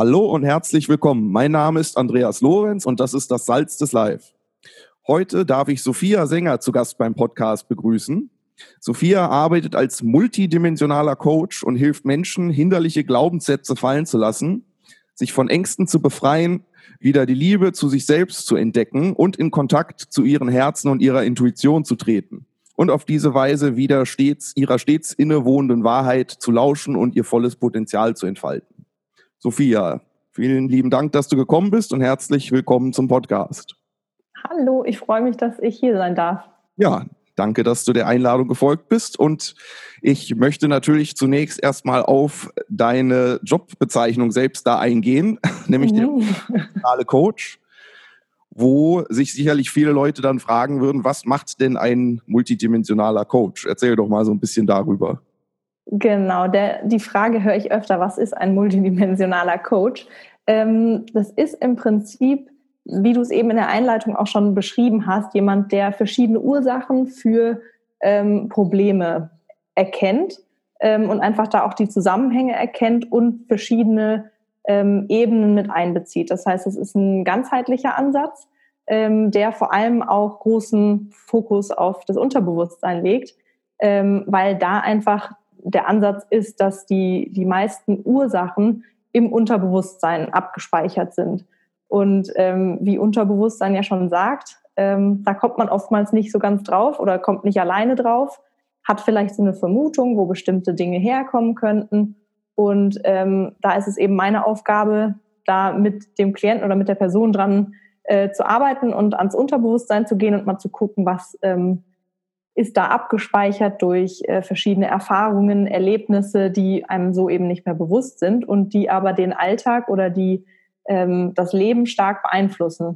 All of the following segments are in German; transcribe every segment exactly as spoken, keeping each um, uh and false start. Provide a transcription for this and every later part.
Hallo und herzlich willkommen. Mein Name ist Andreas Lorenz und das ist das Salz des Live. Heute darf ich Sophia Sänger zu Gast beim Podcast begrüßen. Sophia arbeitet als multidimensionaler Coach und hilft Menschen, hinderliche Glaubenssätze fallen zu lassen, sich von Ängsten zu befreien, wieder die Liebe zu sich selbst zu entdecken und in Kontakt zu ihren Herzen und ihrer Intuition zu treten. Und auf diese Weise wieder stets ihrer stets innewohnenden Wahrheit zu lauschen und ihr volles Potenzial zu entfalten. Sophia, vielen lieben Dank, dass du gekommen bist und herzlich willkommen zum Podcast. Hallo, ich freue mich, dass ich hier sein darf. Ja, danke, dass du der Einladung gefolgt bist. Und ich möchte natürlich zunächst erstmal auf deine Jobbezeichnung selbst da eingehen, nämlich der emotionale Coach, wo sich sicherlich viele Leute dann fragen würden, was macht denn ein multidimensionaler Coach? Erzähl doch mal so ein bisschen darüber. Genau, der, die Frage höre ich öfter, was ist ein multidimensionaler Coach? Ähm, das ist im Prinzip, wie du es eben in der Einleitung auch schon beschrieben hast, jemand, der verschiedene Ursachen für ähm, Probleme erkennt ähm, und einfach da auch die Zusammenhänge erkennt und verschiedene ähm, Ebenen mit einbezieht. Das heißt, es ist ein ganzheitlicher Ansatz, ähm, der vor allem auch großen Fokus auf das Unterbewusstsein legt, ähm, weil da einfach der Ansatz ist, dass die, die meisten Ursachen im Unterbewusstsein abgespeichert sind. Und ähm, wie Unterbewusstsein ja schon sagt, ähm, da kommt man oftmals nicht so ganz drauf oder kommt nicht alleine drauf, hat vielleicht so eine Vermutung, wo bestimmte Dinge herkommen könnten. Und ähm, da ist es eben meine Aufgabe, da mit dem Klienten oder mit der Person dran äh, zu arbeiten und ans Unterbewusstsein zu gehen und mal zu gucken, was ähm, ist da abgespeichert durch äh, verschiedene Erfahrungen, Erlebnisse, die einem so eben nicht mehr bewusst sind und die aber den Alltag oder die ähm, das Leben stark beeinflussen.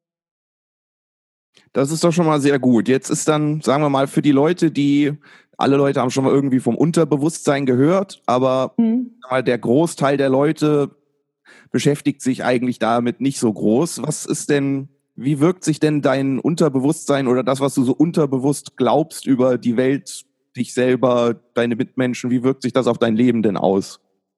Das ist doch schon mal sehr gut. Jetzt ist dann, sagen wir mal, für die Leute, die, alle Leute haben schon mal irgendwie vom Unterbewusstsein gehört, aber mhm. mal der Großteil der Leute beschäftigt sich eigentlich damit nicht so groß. Was ist denn, wie wirkt sich denn dein Unterbewusstsein oder das, was du so unterbewusst glaubst über die Welt, dich selber, deine Mitmenschen, wie wirkt sich das auf dein Leben denn aus?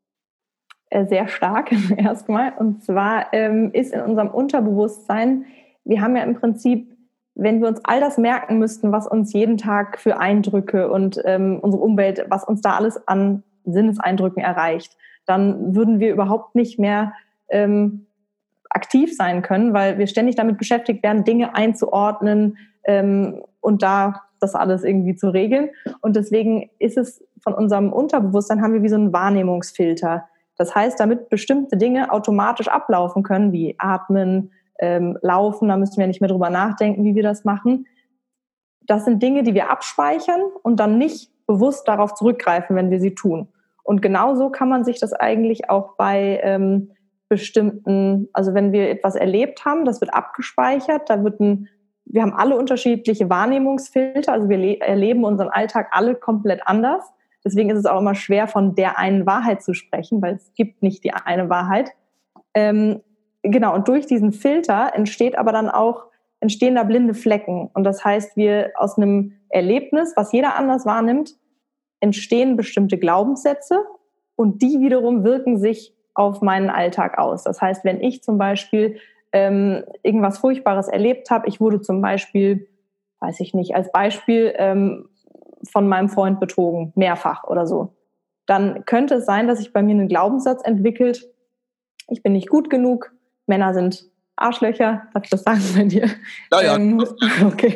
Sehr stark erstmal. Und zwar ähm, ist in unserem Unterbewusstsein, wir haben ja im Prinzip, wenn wir uns all das merken müssten, was uns jeden Tag für Eindrücke und ähm, unsere Umwelt, was uns da alles an Sinneseindrücken erreicht, dann würden wir überhaupt nicht mehr ähm, aktiv sein können, weil wir ständig damit beschäftigt werden, Dinge einzuordnen ähm, und da das alles irgendwie zu regeln. Und deswegen ist es von unserem Unterbewusstsein, haben wir wie so einen Wahrnehmungsfilter. Das heißt, damit bestimmte Dinge automatisch ablaufen können, wie Atmen, ähm, Laufen, da müssen wir nicht mehr drüber nachdenken, wie wir das machen. Das sind Dinge, die wir abspeichern und dann nicht bewusst darauf zurückgreifen, wenn wir sie tun. Und genauso kann man sich das eigentlich auch bei ähm, bestimmten, also wenn wir etwas erlebt haben, das wird abgespeichert, da wird ein, wir haben alle unterschiedliche Wahrnehmungsfilter, also wir le- erleben unseren Alltag alle komplett anders. Deswegen ist es auch immer schwer, von der einen Wahrheit zu sprechen, weil es gibt nicht die eine Wahrheit. Ähm, genau, und durch diesen Filter entsteht aber dann auch, entstehen da blinde Flecken. Und das heißt, wir aus einem Erlebnis, was jeder anders wahrnimmt, entstehen bestimmte Glaubenssätze und die wiederum wirken sich auf meinen Alltag aus. Das heißt, wenn ich zum Beispiel ähm, irgendwas Furchtbares erlebt habe, ich wurde zum Beispiel, weiß ich nicht, als Beispiel ähm, von meinem Freund betrogen, mehrfach oder so, dann könnte es sein, dass sich bei mir einen Glaubenssatz entwickelt, ich bin nicht gut genug, Männer sind Arschlöcher, darf ich das sagen bei dir? Ja, ja. Ähm, okay.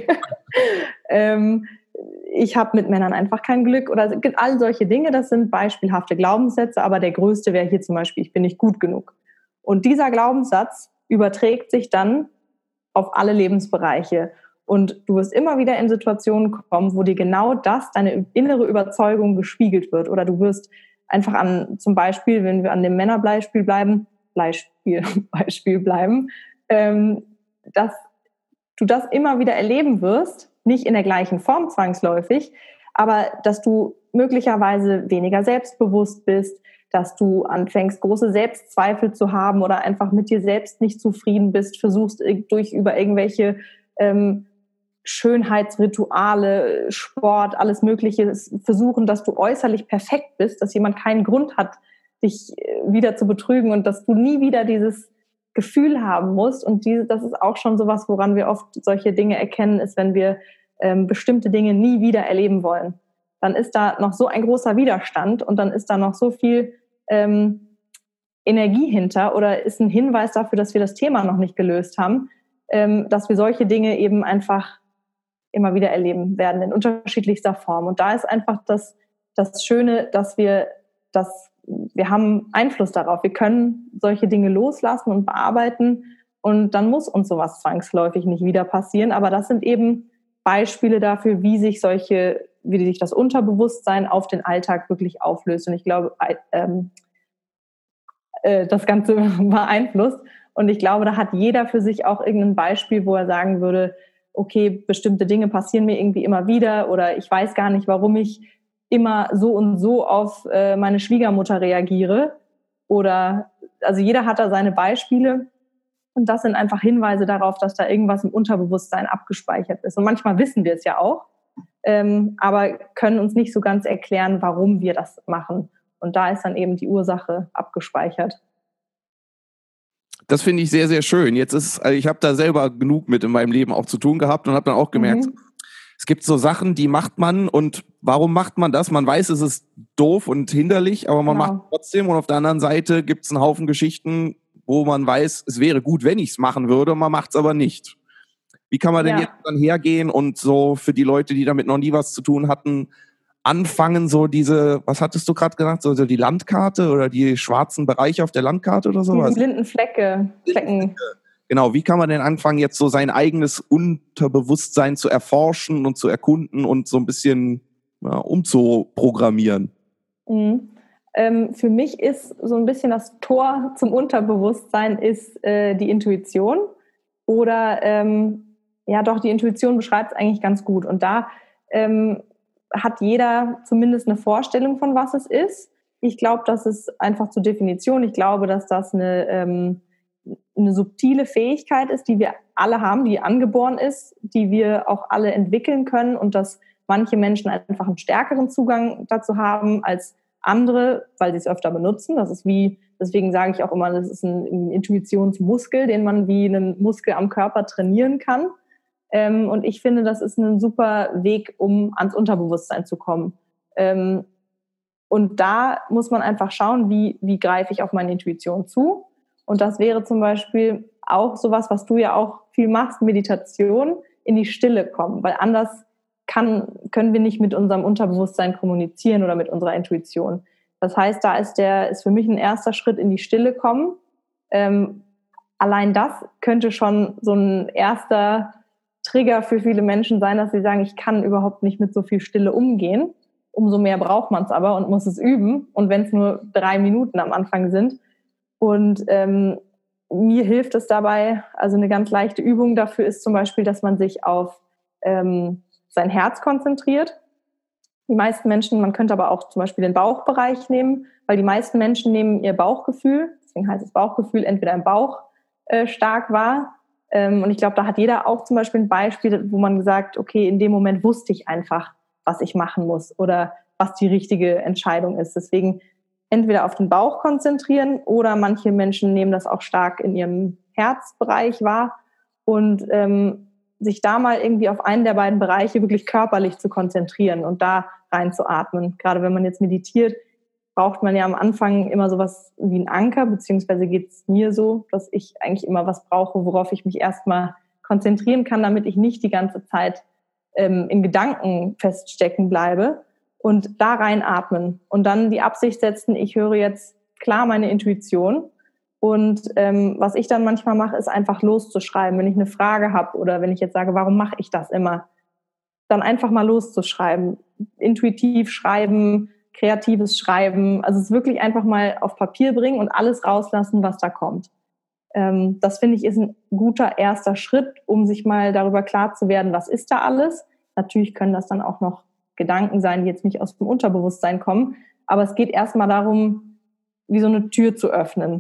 ähm, ich habe mit Männern einfach kein Glück oder all solche Dinge, das sind beispielhafte Glaubenssätze, aber der größte wäre hier zum Beispiel, ich bin nicht gut genug. Und dieser Glaubenssatz überträgt sich dann auf alle Lebensbereiche. Und du wirst immer wieder in Situationen kommen, wo dir genau das, deine innere Überzeugung gespiegelt wird. Oder du wirst einfach an, zum Beispiel, wenn wir an dem Männerbeispiel bleiben, Beispiel, Beispiel bleiben, ähm, dass du das immer wieder erleben wirst, nicht in der gleichen Form zwangsläufig, aber dass du möglicherweise weniger selbstbewusst bist, dass du anfängst, große Selbstzweifel zu haben oder einfach mit dir selbst nicht zufrieden bist, versuchst durch über irgendwelche ähm, Schönheitsrituale, Sport, alles Mögliche versuchen, dass du äußerlich perfekt bist, dass jemand keinen Grund hat, dich wieder zu betrügen und dass du nie wieder dieses Gefühl haben musst. Und diese, das ist auch schon sowas, woran wir oft solche Dinge erkennen, ist, wenn wir ähm, bestimmte Dinge nie wieder erleben wollen. Dann ist da noch so ein großer Widerstand und dann ist da noch so viel ähm, Energie hinter oder ist ein Hinweis dafür, dass wir das Thema noch nicht gelöst haben, ähm, dass wir solche Dinge eben einfach immer wieder erleben werden in unterschiedlichster Form. Und da ist einfach das, das Schöne, dass wir das, wir haben Einfluss darauf. Wir können solche Dinge loslassen und bearbeiten und dann muss uns sowas zwangsläufig nicht wieder passieren. Aber das sind eben Beispiele dafür, wie sich solche, wie sich das Unterbewusstsein auf den Alltag wirklich auflöst. Und ich glaube, ähm, äh, das Ganze beeinflusst. Und ich glaube, da hat jeder für sich auch irgendein Beispiel, wo er sagen würde, okay, bestimmte Dinge passieren mir irgendwie immer wieder oder ich weiß gar nicht, warum ich immer so und so auf äh, meine Schwiegermutter reagiere. Oder, also jeder hat da seine Beispiele und das sind einfach Hinweise darauf, dass da irgendwas im Unterbewusstsein abgespeichert ist. Und manchmal wissen wir es ja auch, ähm, aber können uns nicht so ganz erklären, warum wir das machen. Und da ist dann eben die Ursache abgespeichert. Das finde ich sehr, sehr schön. Jetzt ist, also ich habe da selber genug mit in meinem Leben auch zu tun gehabt und habe dann auch gemerkt, mhm. es gibt so Sachen, die macht man und warum macht man das? Man weiß, es ist doof und hinderlich, aber man genau. macht es trotzdem und auf der anderen Seite gibt es einen Haufen Geschichten, wo man weiß, es wäre gut, wenn ich es machen würde, man macht es aber nicht. Wie kann man denn ja. jetzt dann hergehen und so für die Leute, die damit noch nie was zu tun hatten, anfangen, so diese, was hattest du gerade genannt, so die Landkarte oder die schwarzen Bereiche auf der Landkarte oder sowas? Die blinden Flecke. Flecken. Genau, wie kann man denn anfangen, jetzt so sein eigenes Unterbewusstsein zu erforschen und zu erkunden und so ein bisschen ja, umzuprogrammieren? Mhm. Ähm, für mich ist so ein bisschen das Tor zum Unterbewusstsein ist äh, die Intuition oder ähm, ja doch, die Intuition beschreibt es eigentlich ganz gut und da ähm, hat jeder zumindest eine Vorstellung von was es ist. Ich glaube, das ist einfach zur Definition. Ich glaube, dass das eine, ähm, eine subtile Fähigkeit ist, die wir alle haben, die angeboren ist, die wir auch alle entwickeln können und dass manche Menschen einfach einen stärkeren Zugang dazu haben als andere, weil sie es öfter benutzen. Das ist wie, deswegen sage ich auch immer, das ist ein, ein Intuitionsmuskel, den man wie einen Muskel am Körper trainieren kann. Ähm, und ich finde, das ist ein super Weg, um ans Unterbewusstsein zu kommen. Ähm, und da muss man einfach schauen, wie, wie greife ich auf meine Intuition zu. Und das wäre zum Beispiel auch sowas, was du ja auch viel machst, Meditation, in die Stille kommen. Weil anders kann, können wir nicht mit unserem Unterbewusstsein kommunizieren oder mit unserer Intuition. Das heißt, da ist, der, ist für mich ein erster Schritt in die Stille kommen. Ähm, allein das könnte schon so ein erster Trigger für viele Menschen sein, dass sie sagen, ich kann überhaupt nicht mit so viel Stille umgehen. Umso mehr braucht man es aber und muss es üben. Und wenn es nur drei Minuten am Anfang sind. Und ähm, mir hilft es dabei, also eine ganz leichte Übung dafür ist zum Beispiel, dass man sich auf ähm, sein Herz konzentriert. Die meisten Menschen, man könnte aber auch zum Beispiel den Bauchbereich nehmen, weil die meisten Menschen nehmen ihr Bauchgefühl, deswegen heißt es Bauchgefühl, entweder im Bauch äh, stark wahr. Ähm, und ich glaube, da hat jeder auch zum Beispiel ein Beispiel, wo man sagt, okay, in dem Moment wusste ich einfach, was ich machen muss oder was die richtige Entscheidung ist. Deswegen entweder auf den Bauch konzentrieren oder manche Menschen nehmen das auch stark in ihrem Herzbereich wahr und ähm, sich da mal irgendwie auf einen der beiden Bereiche wirklich körperlich zu konzentrieren und da reinzuatmen. Gerade wenn man jetzt meditiert, braucht man ja am Anfang immer sowas wie einen Anker, beziehungsweise geht es mir so, dass ich eigentlich immer was brauche, worauf ich mich erstmal konzentrieren kann, damit ich nicht die ganze Zeit ähm, in Gedanken feststecken bleibe und da reinatmen und dann die Absicht setzen, ich höre jetzt klar meine Intuition und ähm, was ich dann manchmal mache, ist einfach loszuschreiben, wenn ich eine Frage habe oder wenn ich jetzt sage, warum mache ich das immer, dann einfach mal loszuschreiben, intuitiv schreiben, kreatives Schreiben, also es wirklich einfach mal auf Papier bringen und alles rauslassen, was da kommt. Ähm, das finde ich ist ein guter erster Schritt, um sich mal darüber klar zu werden, was ist da alles. Natürlich können das dann auch noch Gedanken sein, die jetzt nicht aus dem Unterbewusstsein kommen, aber es geht erstmal darum, wie so eine Tür zu öffnen.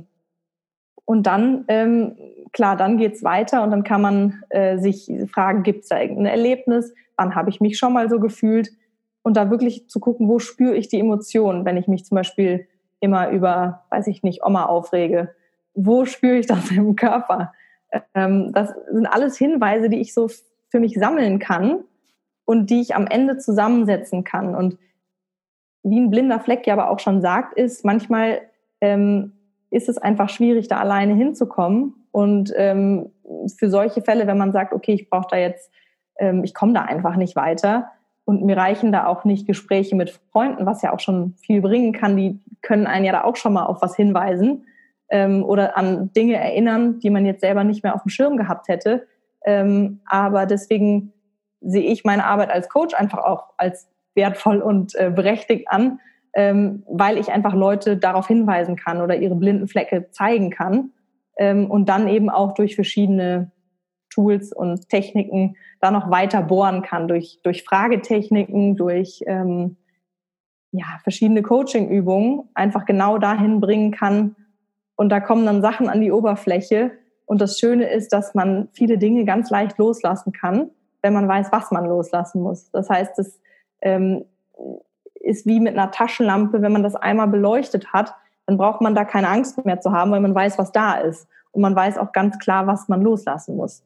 Und dann, ähm, klar, dann geht's weiter und dann kann man äh, sich fragen, gibt es da irgendein Erlebnis? Wann habe ich mich schon mal so gefühlt? Und da wirklich zu gucken, wo spüre ich die Emotionen, wenn ich mich zum Beispiel immer über, weiß ich nicht, Oma aufrege? Wo spüre ich das im Körper? Ähm, das sind alles Hinweise, die ich so für mich sammeln kann und die ich am Ende zusammensetzen kann. Und wie ein blinder Fleck ja aber auch schon sagt, ist, manchmal ähm, ist es einfach schwierig, da alleine hinzukommen. Und ähm, für solche Fälle, wenn man sagt, okay, ich brauche da jetzt, ähm, ich komme da einfach nicht weiter und mir reichen da auch nicht Gespräche mit Freunden, was ja auch schon viel bringen kann, die können einen ja da auch schon mal auf was hinweisen ähm, oder an Dinge erinnern, die man jetzt selber nicht mehr auf dem Schirm gehabt hätte. Ähm, aber deswegen sehe ich meine Arbeit als Coach einfach auch als wertvoll und äh, berechtigt an, ähm, weil ich einfach Leute darauf hinweisen kann oder ihre blinden Flecke zeigen kann ähm, und dann eben auch durch verschiedene Tools und Techniken da noch weiter bohren kann, durch, durch Fragetechniken, durch ähm, ja, verschiedene Coaching-Übungen einfach genau dahin bringen kann. Und da kommen dann Sachen an die Oberfläche. Und das Schöne ist, dass man viele Dinge ganz leicht loslassen kann, wenn man weiß, was man loslassen muss. Das heißt, es ähm, ist wie mit einer Taschenlampe, wenn man das einmal beleuchtet hat, dann braucht man da keine Angst mehr zu haben, weil man weiß, was da ist. Und man weiß auch ganz klar, was man loslassen muss.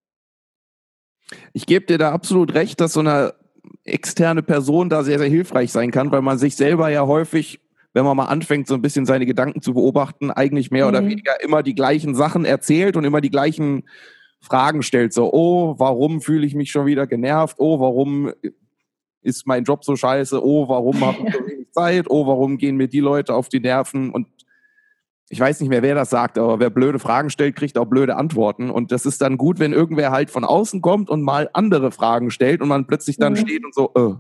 Ich gebe dir da absolut recht, dass so eine externe Person da sehr, sehr hilfreich sein kann, weil man sich selber ja häufig, wenn man mal anfängt, so ein bisschen seine Gedanken zu beobachten, eigentlich mehr mhm. oder weniger immer die gleichen Sachen erzählt und immer die gleichen Fragen stellt. So, oh, warum fühle ich mich schon wieder genervt? Oh, warum ist mein Job so scheiße? Oh, warum habe ich so wenig Zeit? Oh, warum gehen mir die Leute auf die Nerven? Und ich weiß nicht mehr, wer das sagt, aber wer blöde Fragen stellt, kriegt auch blöde Antworten. Und das ist dann gut, wenn irgendwer halt von außen kommt und mal andere Fragen stellt und man plötzlich dann mhm. steht und so, äh,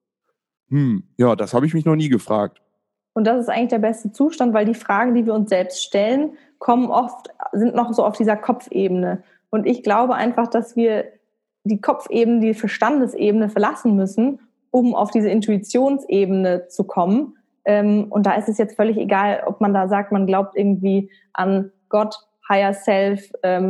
hm, ja, das habe ich mich noch nie gefragt. Und das ist eigentlich der beste Zustand, weil die Fragen, die wir uns selbst stellen, kommen oft, sind noch so auf dieser Kopfebene. Und ich glaube einfach, dass wir die Kopfebene, die Verstandesebene verlassen müssen, um auf diese Intuitionsebene zu kommen. Und da ist es jetzt völlig egal, ob man da sagt, man glaubt irgendwie an Gott, Higher Self,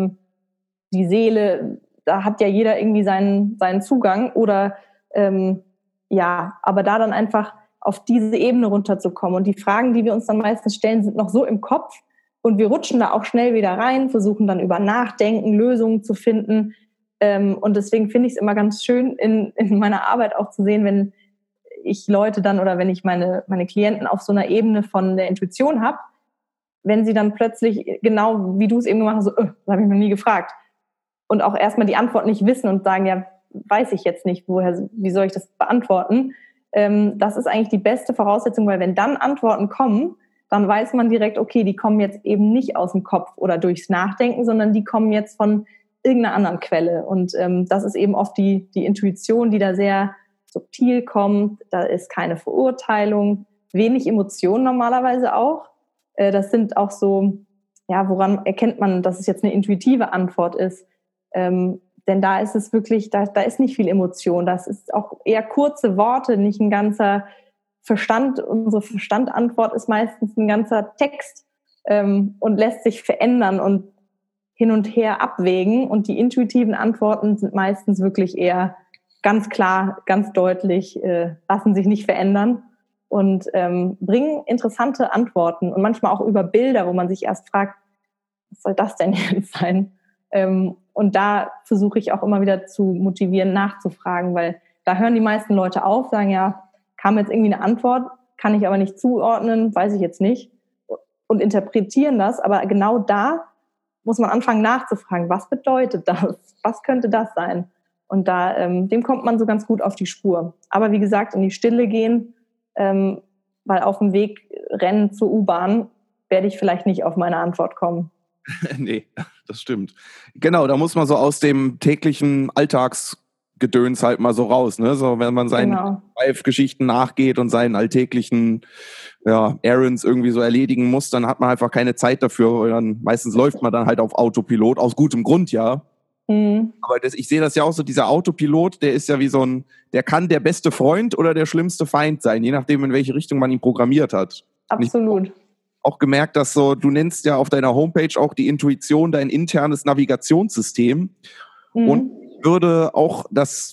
die Seele. Da hat ja jeder irgendwie seinen, seinen Zugang. Oder ähm, ja, aber da dann einfach auf diese Ebene runterzukommen. Und die Fragen, die wir uns dann meistens stellen, sind noch so im Kopf. Und wir rutschen da auch schnell wieder rein, versuchen dann über Nachdenken, Lösungen zu finden. Und deswegen finde ich es immer ganz schön, in, in meiner Arbeit auch zu sehen, wenn ich Leute dann oder wenn ich meine, meine Klienten auf so einer Ebene von der Intuition habe, wenn sie dann plötzlich, genau wie du es eben gemacht hast, so, öh, das habe ich noch nie gefragt. Und auch erstmal die Antwort nicht wissen und sagen, ja, weiß ich jetzt nicht, woher, wie soll ich das beantworten? Ähm, das ist eigentlich die beste Voraussetzung, weil wenn dann Antworten kommen, dann weiß man direkt, okay, die kommen jetzt eben nicht aus dem Kopf oder durchs Nachdenken, sondern die kommen jetzt von irgendeiner anderen Quelle. Und ähm, das ist eben oft die, die Intuition, die da sehr subtil kommt. Da ist keine Verurteilung, wenig Emotionen normalerweise auch. Äh, das sind auch so, ja, woran erkennt man, dass es jetzt eine intuitive Antwort ist? Ähm, denn da ist es wirklich, da, da ist nicht viel Emotion. Das ist auch eher kurze Worte, nicht ein ganzer Verstand. Unsere Verstandantwort ist meistens ein ganzer Text ähm, und lässt sich verändern und hin und her abwägen. Und die intuitiven Antworten sind meistens wirklich eher ganz klar, ganz deutlich, äh, lassen sich nicht verändern und ähm, bringen interessante Antworten und manchmal auch über Bilder, wo man sich erst fragt, was soll das denn jetzt sein? Ähm, und da versuche ich auch immer wieder zu motivieren, nachzufragen, weil da hören die meisten Leute auf, sagen, ja, kam jetzt irgendwie eine Antwort, kann ich aber nicht zuordnen, weiß ich jetzt nicht und interpretieren das, aber genau da muss man anfangen nachzufragen, was bedeutet das? Was könnte das sein? Und da, ähm, dem kommt man so ganz gut auf die Spur. Aber wie gesagt, in die Stille gehen, ähm, weil auf dem Weg rennen zur U-Bahn werde ich vielleicht nicht auf meine Antwort kommen. Nee, das stimmt. Genau, da muss man so aus dem täglichen Alltagsgedöns halt mal so raus, ne? So, wenn man seinen Genau. Live-Geschichten nachgeht und seinen alltäglichen ja, Errands irgendwie so erledigen muss, dann hat man einfach keine Zeit dafür. Weil dann, meistens läuft man dann halt auf Autopilot, aus gutem Grund, ja. Mhm. Aber das, ich sehe das ja auch so, dieser Autopilot, der ist ja wie so ein, der kann der beste Freund oder der schlimmste Feind sein, je nachdem, in welche Richtung man ihn programmiert hat. Absolut. Auch gemerkt, dass so, du nennst ja auf deiner Homepage auch die Intuition dein internes Navigationssystem. Mhm. Und ich würde auch das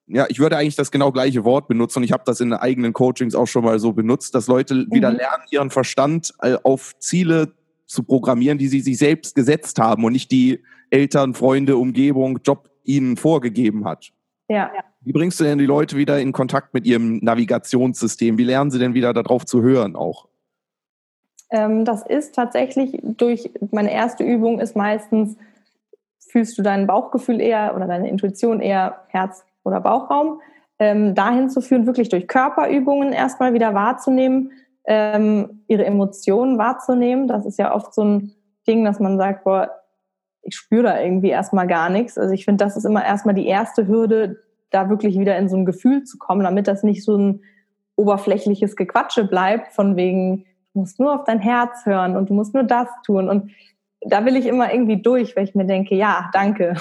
ja, ich würde eigentlich das genau gleiche Wort benutzen und ich habe das in eigenen Coachings auch schon mal so benutzt, dass Leute mhm. wieder lernen, ihren Verstand auf Ziele zu programmieren, die sie sich selbst gesetzt haben und nicht die Eltern, Freunde, Umgebung, Job ihnen vorgegeben hat. Ja. Wie bringst du denn die Leute wieder in Kontakt mit ihrem Navigationssystem? Wie lernen sie denn wieder darauf zu hören auch? Ähm, das ist tatsächlich durch, meine erste Übung ist meistens, fühlst du dein Bauchgefühl eher oder deine Intuition eher Herz- oder Bauchraum, ähm, dahin zu führen, wirklich durch Körperübungen erstmal wieder wahrzunehmen, ähm, ihre Emotionen wahrzunehmen. Das ist ja oft so ein Ding, dass man sagt, boah, ich spüre da irgendwie erstmal gar nichts. Also ich finde, das ist immer erstmal die erste Hürde, da wirklich wieder in so ein Gefühl zu kommen, damit das nicht so ein oberflächliches Gequatsche bleibt, von wegen, du musst nur auf dein Herz hören und du musst nur das tun. Und da will ich immer irgendwie durch, weil ich mir denke, ja, danke.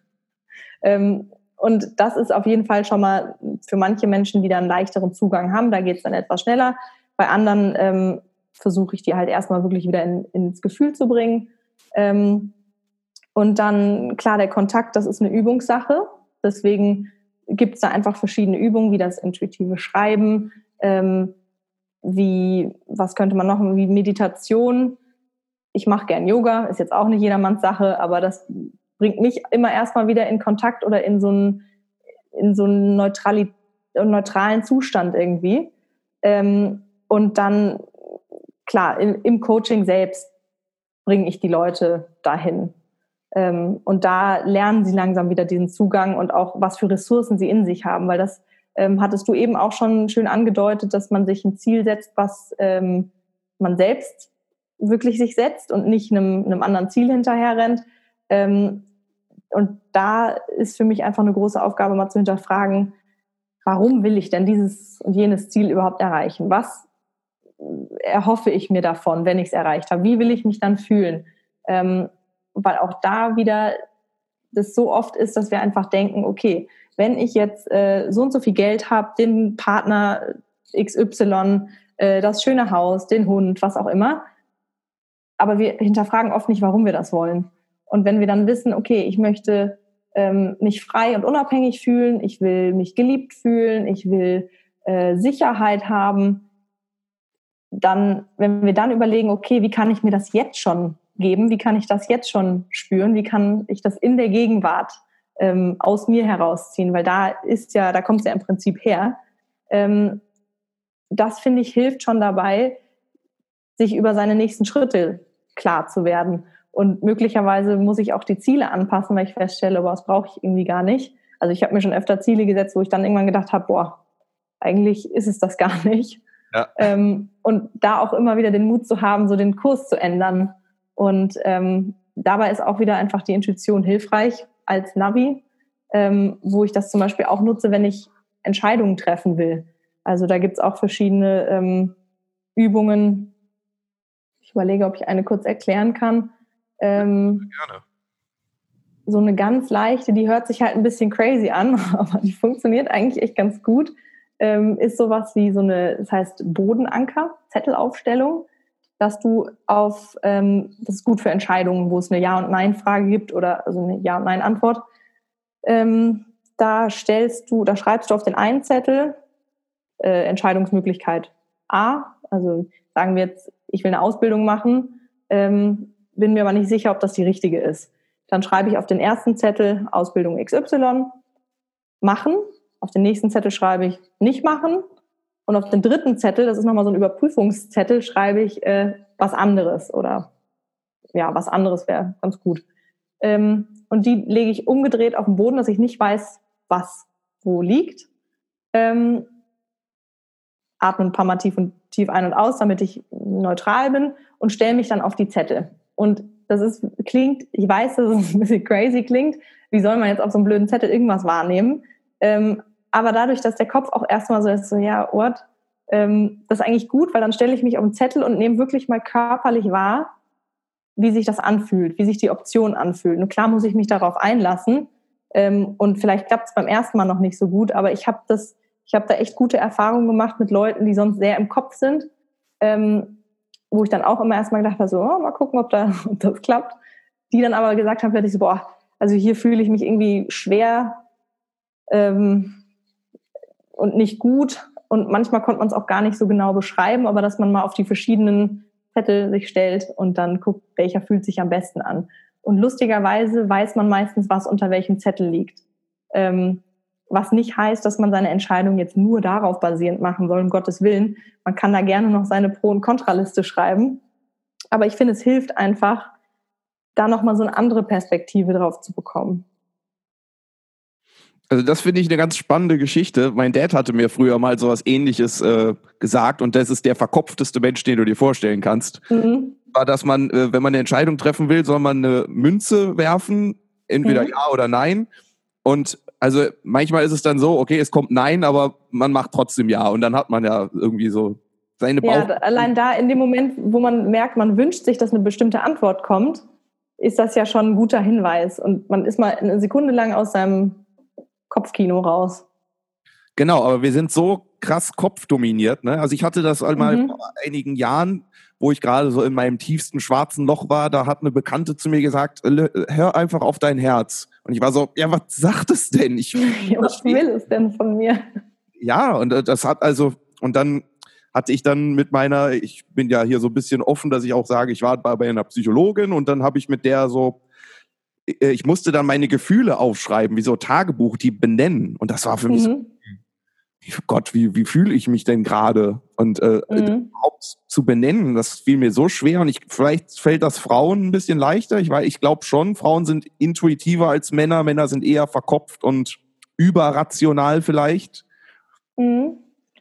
ähm, und das ist auf jeden Fall schon mal für manche Menschen, die da einen leichteren Zugang haben, da geht es dann etwas schneller. Bei anderen ähm, versuche ich die halt erstmal wirklich wieder in, ins Gefühl zu bringen. Ähm, und dann, klar, der Kontakt, das ist eine Übungssache. Deswegen gibt es da einfach verschiedene Übungen, wie das intuitive Schreiben, ähm, wie, was könnte man noch, wie Meditation. Ich mache gern Yoga, ist jetzt auch nicht jedermanns Sache, aber das bringt mich immer erstmal wieder in Kontakt oder in so einen, in so einen neutrali- neutralen Zustand irgendwie. Ähm, und dann, klar, im, im Coaching selbst bringe ich die Leute dahin. Ähm, und da lernen sie langsam wieder diesen Zugang und auch, was für Ressourcen sie in sich haben, weil das ähm, hattest du eben auch schon schön angedeutet, dass man sich ein Ziel setzt, was ähm, man selbst wirklich sich setzt und nicht einem, einem anderen Ziel hinterher rennt. Ähm, und da ist für mich einfach eine große Aufgabe, mal zu hinterfragen, warum will ich denn dieses und jenes Ziel überhaupt erreichen? Was erhoffe ich mir davon, wenn ich es erreicht habe? Wie will ich mich dann fühlen? Ähm, weil auch da wieder das so oft ist, dass wir einfach denken, okay, wenn ich jetzt äh, so und so viel Geld habe, den Partner X Y, äh, das schöne Haus, den Hund, was auch immer, aber wir hinterfragen oft nicht, warum wir das wollen. Und wenn wir dann wissen, okay, ich möchte ähm, mich frei und unabhängig fühlen, ich will mich geliebt fühlen, ich will äh, Sicherheit haben, dann, wenn wir dann überlegen, okay, wie kann ich mir das jetzt schon geben, wie kann ich das jetzt schon spüren, wie kann ich das in der Gegenwart ähm, aus mir herausziehen, weil da ist ja, da kommt es ja im Prinzip her. Ähm, das, finde ich, hilft schon dabei, sich über seine nächsten Schritte klar zu werden. Und möglicherweise muss ich auch die Ziele anpassen, weil ich feststelle, boah, das brauche ich irgendwie gar nicht. Also ich habe mir schon öfter Ziele gesetzt, wo ich dann irgendwann gedacht habe, boah, eigentlich ist es das gar nicht. Ja. Ähm, und da auch immer wieder den Mut zu haben, so den Kurs zu ändern. Und ähm, dabei ist auch wieder einfach die Intuition hilfreich als Navi, ähm, wo ich das zum Beispiel auch nutze, wenn ich Entscheidungen treffen will. Also da gibt es auch verschiedene ähm, Übungen. Ich überlege, ob ich eine kurz erklären kann. Ähm, Gerne. So eine ganz leichte, die hört sich halt ein bisschen crazy an, aber die funktioniert eigentlich echt ganz gut. Ähm, ist sowas wie so eine, das heißt Bodenanker, Zettelaufstellung, dass du auf, ähm, das ist gut für Entscheidungen, wo es eine Ja- und Nein-Frage gibt oder also eine Ja- und Nein-Antwort. Ähm, da stellst du, da schreibst du auf den einen Zettel äh, Entscheidungsmöglichkeit A, also sagen wir jetzt, ich will eine Ausbildung machen, ähm, bin mir aber nicht sicher, ob das die richtige ist. Dann schreibe ich auf den ersten Zettel Ausbildung X Y, machen. Auf den nächsten Zettel schreibe ich nicht machen. Und auf den dritten Zettel, das ist nochmal so ein Überprüfungszettel, schreibe ich äh, was anderes. Oder ja, was anderes wäre ganz gut. Ähm, und die lege ich umgedreht auf den Boden, dass ich nicht weiß, was wo liegt. Ähm, atme ein paar Mal tief und tief ein und aus, damit ich neutral bin und stelle mich dann auf die Zettel. Und das ist, klingt, ich weiß, dass es ein bisschen crazy klingt. Wie soll man jetzt auf so einem blöden Zettel irgendwas wahrnehmen? Ähm, aber dadurch, dass der Kopf auch erstmal so ist, so, ja, what? Ähm, das ist eigentlich gut, weil dann stelle ich mich auf den Zettel und nehme wirklich mal körperlich wahr, wie sich das anfühlt, wie sich die Option anfühlt. Und klar muss ich mich darauf einlassen. Ähm, und vielleicht klappt es beim ersten Mal noch nicht so gut, aber ich habe das, ich habe da echt gute Erfahrungen gemacht mit Leuten, die sonst sehr im Kopf sind, ähm, wo ich dann auch immer erstmal gedacht habe, so, oh, mal gucken, ob, da, ob das klappt. Die dann aber gesagt haben, plötzlich so, boah, also hier fühle ich mich irgendwie schwer, ähm, und nicht gut. Und manchmal konnte man es auch gar nicht so genau beschreiben, aber dass man mal auf die verschiedenen Zettel sich stellt und dann guckt, welcher fühlt sich am besten an. Und lustigerweise weiß man meistens, was unter welchem Zettel liegt. Ähm, was nicht heißt, dass man seine Entscheidung jetzt nur darauf basierend machen soll, um Gottes Willen. Man kann da gerne noch seine Pro- und Kontraliste schreiben. Aber ich finde, es hilft einfach, da nochmal so eine andere Perspektive drauf zu bekommen. Also das finde ich eine ganz spannende Geschichte. Mein Dad hatte mir früher mal sowas Ähnliches äh, gesagt und das ist der verkopfteste Mensch, den du dir vorstellen kannst. Mhm. War, dass man, äh, wenn man eine Entscheidung treffen will, soll man eine Münze werfen, entweder mhm. ja oder nein. Und also manchmal ist es dann so, okay, es kommt nein, aber man macht trotzdem ja und dann hat man ja irgendwie so seine Bauch... Ja, allein da in dem Moment, wo man merkt, man wünscht sich, dass eine bestimmte Antwort kommt, ist das ja schon ein guter Hinweis und man ist mal eine Sekunde lang aus seinem Kopfkino raus. Genau, aber wir sind so krass kopfdominiert. Ne? Also ich hatte das einmal mhm. vor einigen Jahren, wo ich gerade so in meinem tiefsten schwarzen Loch war, da hat eine Bekannte zu mir gesagt, hör einfach auf dein Herz. Und ich war so, ja, was sagt es denn? Ich, ja, was will es denn von mir? Ja, und das hat also, und dann hatte ich dann mit meiner, ich bin ja hier so ein bisschen offen, dass ich auch sage, ich war bei einer Psychologin und dann habe ich mit der so, ich musste dann meine Gefühle aufschreiben, wie so Tagebuch, die benennen. Und das war für mich mhm. so, Gott, wie, wie fühle ich mich denn gerade? Und äh, mhm. überhaupt zu benennen, das fiel mir so schwer. Und ich, vielleicht fällt das Frauen ein bisschen leichter. Ich, ich glaube schon, Frauen sind intuitiver als Männer. Männer sind eher verkopft und überrational vielleicht. Mhm.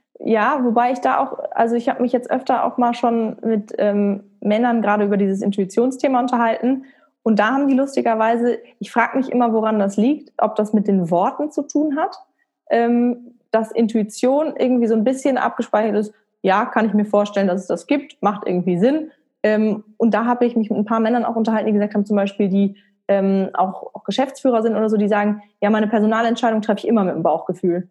Ja, wobei ich da auch, also ich habe mich jetzt öfter auch mal schon mit ähm, Männern gerade über dieses Intuitionsthema unterhalten. Und da haben die lustigerweise, ich frage mich immer, woran das liegt, ob das mit den Worten zu tun hat, ähm, dass Intuition irgendwie so ein bisschen abgespeichert ist, ja, kann ich mir vorstellen, dass es das gibt, macht irgendwie Sinn. Ähm, und da habe ich mich mit ein paar Männern auch unterhalten, die gesagt haben, zum Beispiel, die ähm, auch, auch Geschäftsführer sind oder so, die sagen, ja, meine Personalentscheidung treffe ich immer mit dem Bauchgefühl.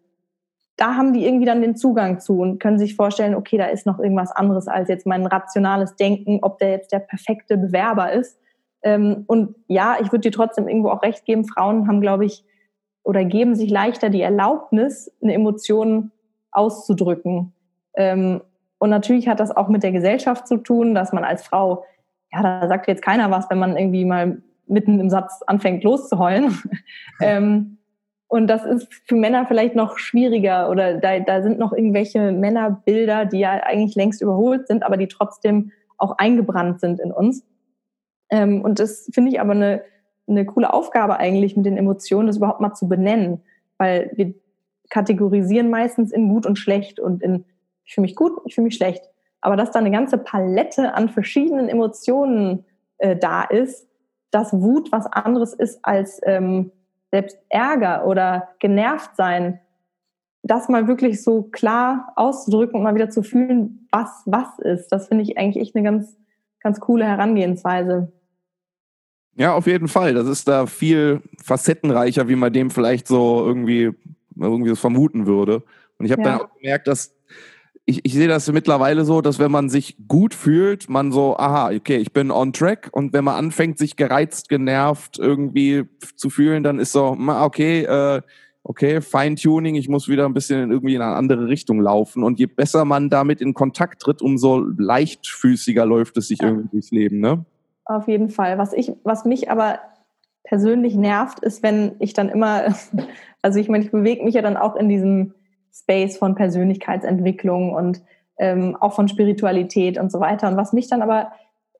Da haben die irgendwie dann den Zugang zu und können sich vorstellen, okay, da ist noch irgendwas anderes als jetzt mein rationales Denken, ob der jetzt der perfekte Bewerber ist. Ähm, und ja, ich würde dir trotzdem irgendwo auch recht geben, Frauen haben, glaube ich, oder geben sich leichter die Erlaubnis, eine Emotion auszudrücken. Ähm, und natürlich hat das auch mit der Gesellschaft zu tun, dass man als Frau, ja, da sagt jetzt keiner was, wenn man irgendwie mal mitten im Satz anfängt loszuheulen. ähm, und das ist für Männer vielleicht noch schwieriger oder da, da sind noch irgendwelche Männerbilder, die ja eigentlich längst überholt sind, aber die trotzdem auch eingebrannt sind in uns. Ähm, und das finde ich aber eine, eine coole Aufgabe eigentlich mit den Emotionen, das überhaupt mal zu benennen, weil wir kategorisieren meistens in gut und schlecht und in ich fühle mich gut, ich fühle mich schlecht. Aber dass da eine ganze Palette an verschiedenen Emotionen äh, da ist, dass Wut was anderes ist als ähm, selbst Ärger oder genervt sein, das mal wirklich so klar auszudrücken und mal wieder zu fühlen, was was ist, das finde ich eigentlich echt eine ganz, ganz coole Herangehensweise. Ja, auf jeden Fall. Das ist da viel facettenreicher, wie man dem vielleicht so irgendwie, irgendwie das vermuten würde. Und ich habe ja. dann auch gemerkt, dass ich, ich sehe das mittlerweile so, dass wenn man sich gut fühlt, man so, aha, okay, ich bin on track. Und wenn man anfängt, sich gereizt, genervt irgendwie zu fühlen, dann ist so, okay, äh, okay, Feintuning, ich muss wieder ein bisschen irgendwie in eine andere Richtung laufen. Und je besser man damit in Kontakt tritt, umso leichtfüßiger läuft es sich ja. irgendwie durchs Leben, ne? Auf jeden Fall. Was ich, was mich aber persönlich nervt, ist, wenn ich dann immer, also ich meine, ich bewege mich ja dann auch in diesem Space von Persönlichkeitsentwicklung und ähm, auch von Spiritualität und so weiter. Und was mich dann aber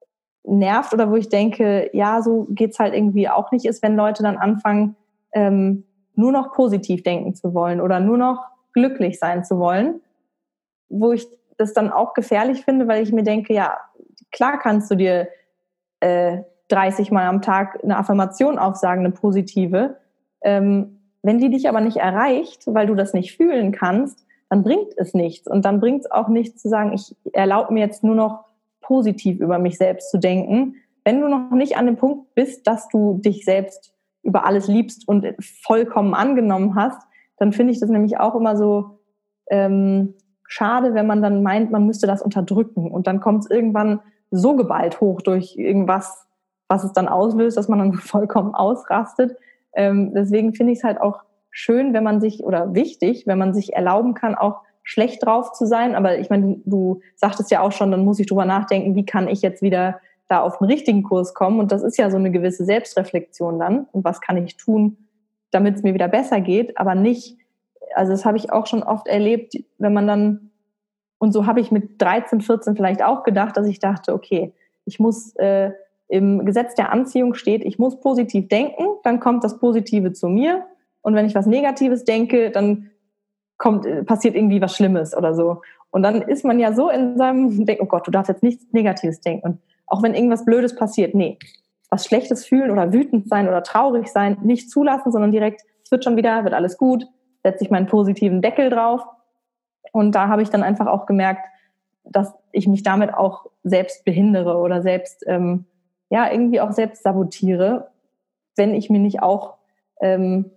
nervt oder wo ich denke, ja, so geht's halt irgendwie auch nicht, ist, wenn Leute dann anfangen, ähm, nur noch positiv denken zu wollen oder nur noch glücklich sein zu wollen, wo ich das dann auch gefährlich finde, weil ich mir denke, ja, klar kannst du dir äh, dreißig Mal am Tag eine Affirmation aufsagen, eine positive. Ähm, wenn die dich aber nicht erreicht, weil du das nicht fühlen kannst, dann bringt es nichts. Und dann bringt es auch nichts zu sagen, ich erlaube mir jetzt nur noch positiv über mich selbst zu denken. Wenn du noch nicht an dem Punkt bist, dass du dich selbst über alles liebst und vollkommen angenommen hast, dann finde ich das nämlich auch immer so ähm, schade, wenn man dann meint, man müsste das unterdrücken. Und dann kommt es irgendwann so geballt hoch durch irgendwas, was es dann auslöst, dass man dann vollkommen ausrastet. Ähm, deswegen finde ich es halt auch schön, wenn man sich, oder wichtig, wenn man sich erlauben kann, auch schlecht drauf zu sein. Aber ich meine, du, du sagtest ja auch schon, dann muss ich drüber nachdenken, wie kann ich jetzt wieder da auf den richtigen Kurs kommen? Und das ist ja so eine gewisse Selbstreflexion dann. Und was kann ich tun, damit es mir wieder besser geht? Aber nicht, also das habe ich auch schon oft erlebt, wenn man dann, und so habe ich mit dreizehn, vierzehn vielleicht auch gedacht, dass ich dachte, okay, ich muss, äh, im Gesetz der Anziehung steht, ich muss positiv denken, dann kommt das Positive zu mir. Und wenn ich was Negatives denke, dann kommt, passiert irgendwie was Schlimmes oder so. Und dann ist man ja so in seinem Denken, oh Gott, du darfst jetzt nichts Negatives denken. Und auch wenn irgendwas Blödes passiert, nee, was Schlechtes fühlen oder wütend sein oder traurig sein, nicht zulassen, sondern direkt, es wird schon wieder, wird alles gut, setze ich meinen positiven Deckel drauf. Und da habe ich dann einfach auch gemerkt, dass ich mich damit auch selbst behindere oder selbst, ähm, ja, irgendwie auch selbst sabotiere, wenn ich mir nicht auch ähm,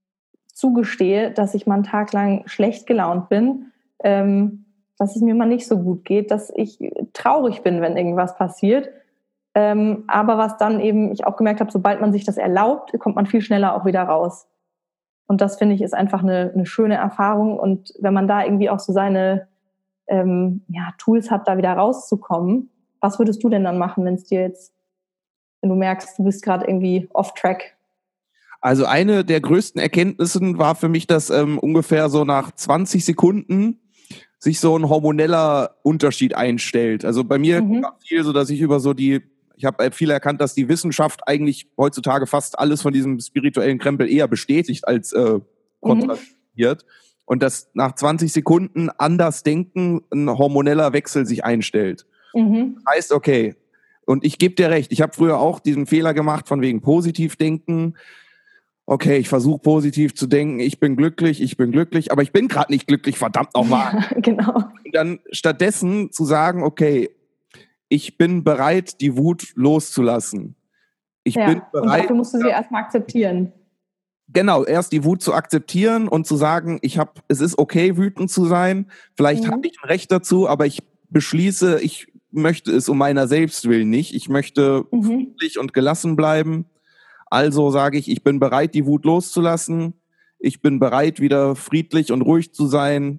zugestehe, dass ich mal einen Tag lang schlecht gelaunt bin, ähm, dass es mir mal nicht so gut geht, dass ich traurig bin, wenn irgendwas passiert. Ähm, aber was dann eben ich auch gemerkt habe, sobald man sich das erlaubt, kommt man viel schneller auch wieder raus. Und das, finde ich, ist einfach eine, eine schöne Erfahrung. Und wenn man da irgendwie auch so seine ähm, ja, Tools hat, da wieder rauszukommen, was würdest du denn dann machen, wenn es dir jetzt, wenn du merkst, du bist gerade irgendwie off-track? Also eine der größten Erkenntnissen war für mich, dass ähm, ungefähr so nach zwanzig Sekunden sich so ein hormoneller Unterschied einstellt. Also bei mir mhm. war viel so, dass ich über so die, ich habe viel erkannt, dass die Wissenschaft eigentlich heutzutage fast alles von diesem spirituellen Krempel eher bestätigt als äh, kontradiert. Mhm. Und dass nach zwanzig Sekunden anders denken ein hormoneller Wechsel sich einstellt. Mhm. Das heißt, okay, und ich gebe dir recht, ich habe früher auch diesen Fehler gemacht von wegen positiv denken. Okay, ich versuche positiv zu denken, ich bin glücklich, ich bin glücklich, aber ich bin gerade nicht glücklich, verdammt nochmal. Ja, genau. Und dann stattdessen zu sagen, okay, ich bin bereit, die Wut loszulassen. Ich ja, bin bereit. Und dafür musst du sie erstmal akzeptieren. Genau, erst die Wut zu akzeptieren und zu sagen, ich habe, es ist okay, wütend zu sein. Vielleicht mhm. habe ich ein Recht dazu, aber ich beschließe, ich möchte es um meiner selbst willen nicht. Ich möchte mhm. friedlich und gelassen bleiben. Also sage ich, ich bin bereit, die Wut loszulassen. Ich bin bereit, wieder friedlich und ruhig zu sein.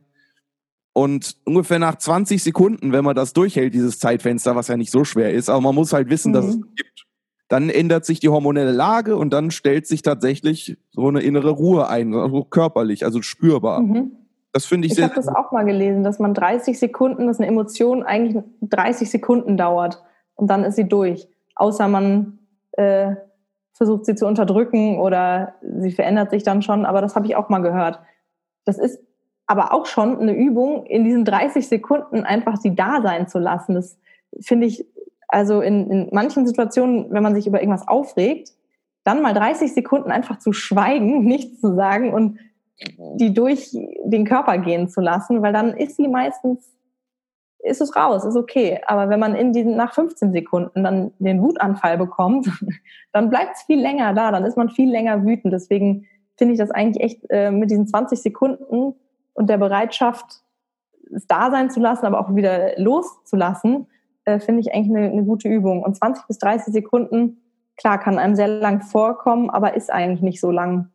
Und ungefähr nach zwanzig Sekunden, wenn man das durchhält, dieses Zeitfenster, was ja nicht so schwer ist, aber man muss halt wissen, mhm. dass es gibt. Dann ändert sich die hormonelle Lage und dann stellt sich tatsächlich so eine innere Ruhe ein, also körperlich, also spürbar. Mhm. Das finde ich, ich sehr... Ich habe das auch mal gelesen, dass man dreißig Sekunden, dass eine Emotion eigentlich dreißig Sekunden dauert und dann ist sie durch. Außer man äh, versucht sie zu unterdrücken oder sie verändert sich dann schon, aber das habe ich auch mal gehört. Das ist aber auch schon eine Übung, in diesen dreißig Sekunden einfach sie da sein zu lassen. Das finde ich... Also in, in manchen Situationen, wenn man sich über irgendwas aufregt, dann mal dreißig Sekunden einfach zu schweigen, nichts zu sagen und die durch den Körper gehen zu lassen, weil dann ist sie meistens, ist es raus, ist okay. Aber wenn man in diesen, nach fünfzehn Sekunden dann den Wutanfall bekommt, dann bleibt es viel länger da, dann ist man viel länger wütend. Deswegen finde ich das eigentlich echt äh, mit diesen zwanzig Sekunden und der Bereitschaft, es da sein zu lassen, aber auch wieder loszulassen, Äh, finde ich eigentlich eine, eine gute Übung. Und zwanzig bis dreißig Sekunden, klar, kann einem sehr lang vorkommen, aber ist eigentlich nicht so lang.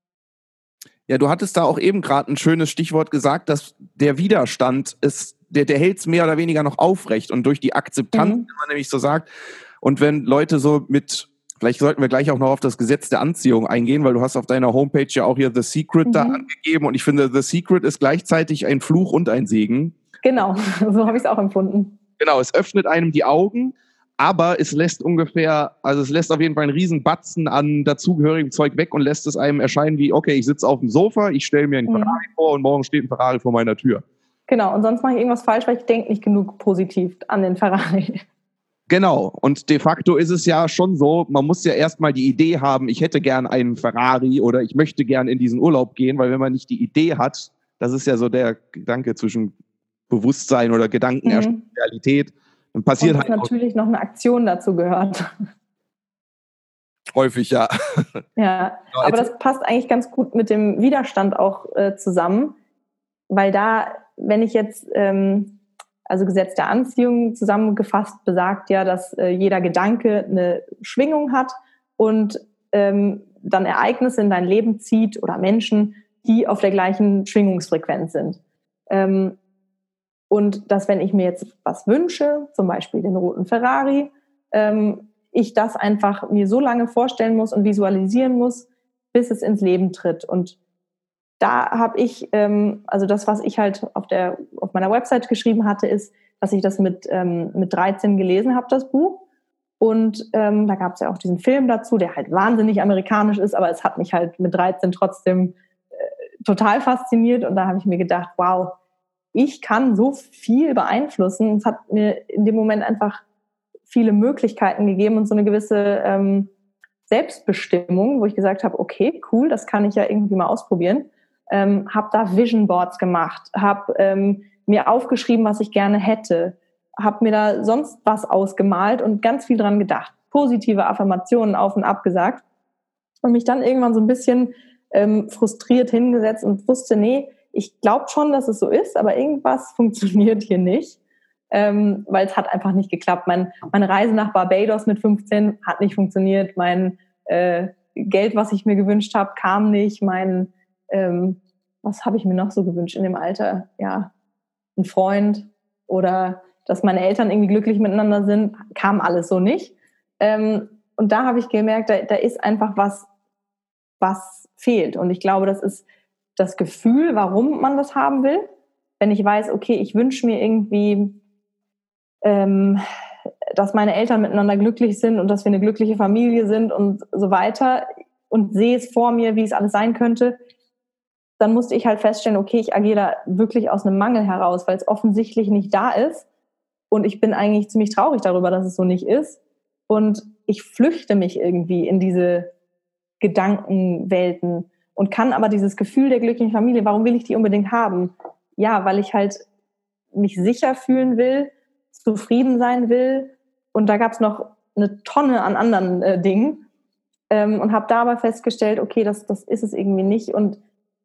Ja, du hattest da auch eben gerade ein schönes Stichwort gesagt, dass der Widerstand ist, der, der hält es mehr oder weniger noch aufrecht. Und durch die Akzeptanz, mhm. wenn man nämlich so sagt, und wenn Leute so mit, vielleicht sollten wir gleich auch noch auf das Gesetz der Anziehung eingehen, weil du hast auf deiner Homepage ja auch hier The Secret mhm. da angegeben. Und ich finde, The Secret ist gleichzeitig ein Fluch und ein Segen. Genau, so habe ich es auch empfunden. Genau, es öffnet einem die Augen, aber es lässt ungefähr, also es lässt auf jeden Fall einen riesen Batzen an dazugehörigem Zeug weg und lässt es einem erscheinen wie, okay, ich sitze auf dem Sofa, ich stelle mir einen Ferrari mhm. vor und morgen steht ein Ferrari vor meiner Tür. Genau, und sonst mache ich irgendwas falsch, weil ich denke nicht genug positiv an den Ferrari. Genau, und de facto ist es ja schon so, man muss ja erstmal die Idee haben, ich hätte gern einen Ferrari oder ich möchte gern in diesen Urlaub gehen, weil wenn man nicht die Idee hat, das ist ja so der Gedanke zwischen Bewusstsein oder Gedanken, mhm. Realität, dann passiert und dass halt natürlich noch eine Aktion dazu gehört. Häufig, ja. Ja, genau, aber das passt eigentlich ganz gut mit dem Widerstand auch äh, zusammen, weil da, wenn ich jetzt, ähm, also Gesetz der Anziehung zusammengefasst besagt ja, dass äh, jeder Gedanke eine Schwingung hat und ähm, dann Ereignisse in dein Leben zieht oder Menschen, die auf der gleichen Schwingungsfrequenz sind. Ähm, und dass, wenn ich mir jetzt was wünsche, zum Beispiel den roten Ferrari, ähm, ich das einfach mir so lange vorstellen muss und visualisieren muss, bis es ins Leben tritt. Und da habe ich, ähm, also das, was ich halt auf der auf meiner Website geschrieben hatte, ist, dass ich das mit ähm, mit dreizehn gelesen habe, das Buch. Und ähm, da gab es ja auch diesen Film dazu, der halt wahnsinnig amerikanisch ist, aber es hat mich halt mit dreizehn trotzdem äh, total fasziniert. Und da habe ich mir gedacht, wow, ich kann so viel beeinflussen. Es hat mir in dem Moment einfach viele Möglichkeiten gegeben und so eine gewisse ähm, Selbstbestimmung, wo ich gesagt habe, okay, cool, das kann ich ja irgendwie mal ausprobieren. Ähm, habe da Vision Boards gemacht, habe ähm, mir aufgeschrieben, was ich gerne hätte, habe mir da sonst was ausgemalt und ganz viel dran gedacht, positive Affirmationen auf und ab gesagt und mich dann irgendwann so ein bisschen ähm, frustriert hingesetzt und wusste, nee, ich glaube schon, dass es so ist, aber irgendwas funktioniert hier nicht, ähm, weil es hat einfach nicht geklappt. Mein, meine Reise nach Barbados mit fünfzehn hat nicht funktioniert, mein äh, Geld, was ich mir gewünscht habe, kam nicht, mein Ähm, was habe ich mir noch so gewünscht in dem Alter? Ja, ein Freund oder dass meine Eltern irgendwie glücklich miteinander sind, kam alles so nicht. Ähm, und da habe ich gemerkt, da, da ist einfach was, was fehlt. Und ich glaube, das ist das Gefühl, warum man das haben will. Wenn ich weiß, okay, ich wünsche mir irgendwie, ähm, dass meine Eltern miteinander glücklich sind und dass wir eine glückliche Familie sind und so weiter und sehe es vor mir, wie es alles sein könnte, dann musste ich halt feststellen, okay, ich agiere da wirklich aus einem Mangel heraus, weil es offensichtlich nicht da ist. Und ich bin eigentlich ziemlich traurig darüber, dass es so nicht ist. Und ich flüchte mich irgendwie in diese Gedankenwelten und kann aber dieses Gefühl der glücklichen Familie, warum will ich die unbedingt haben? Ja, weil ich halt mich sicher fühlen will, zufrieden sein will. Und da gab es noch eine Tonne an anderen äh, Dingen. Ähm, und habe da aber festgestellt, okay, das, das ist es irgendwie nicht. Und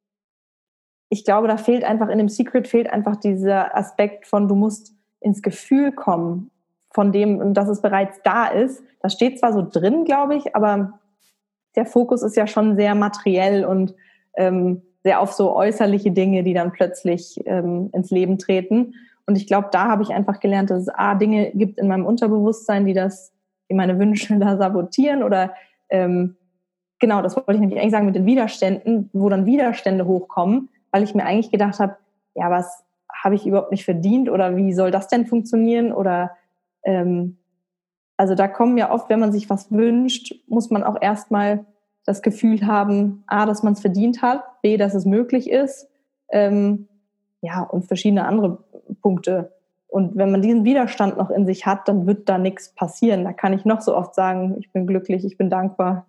ich glaube, da fehlt einfach, in dem Secret fehlt einfach dieser Aspekt von, du musst ins Gefühl kommen von dem, dass es bereits da ist. Das steht zwar so drin, glaube ich, aber der Fokus ist ja schon sehr materiell und ähm, sehr auf so äußerliche Dinge, die dann plötzlich ähm, ins Leben treten. Und ich glaube, da habe ich einfach gelernt, dass es A, Dinge gibt in meinem Unterbewusstsein, die das, die meine Wünsche da sabotieren oder ähm, genau, das wollte ich nämlich eigentlich sagen mit den Widerständen, wo dann Widerstände hochkommen, weil ich mir eigentlich gedacht habe, ja, was habe ich überhaupt nicht verdient oder wie soll das denn funktionieren? Oder ähm, also da kommen ja oft, wenn man sich was wünscht, muss man auch erstmal das Gefühl haben, A, dass man es verdient hat, B, dass es möglich ist, ähm, ja, und verschiedene andere Punkte. Und wenn man diesen Widerstand noch in sich hat, dann wird da nichts passieren. Da kann ich noch so oft sagen, ich bin glücklich, ich bin dankbar.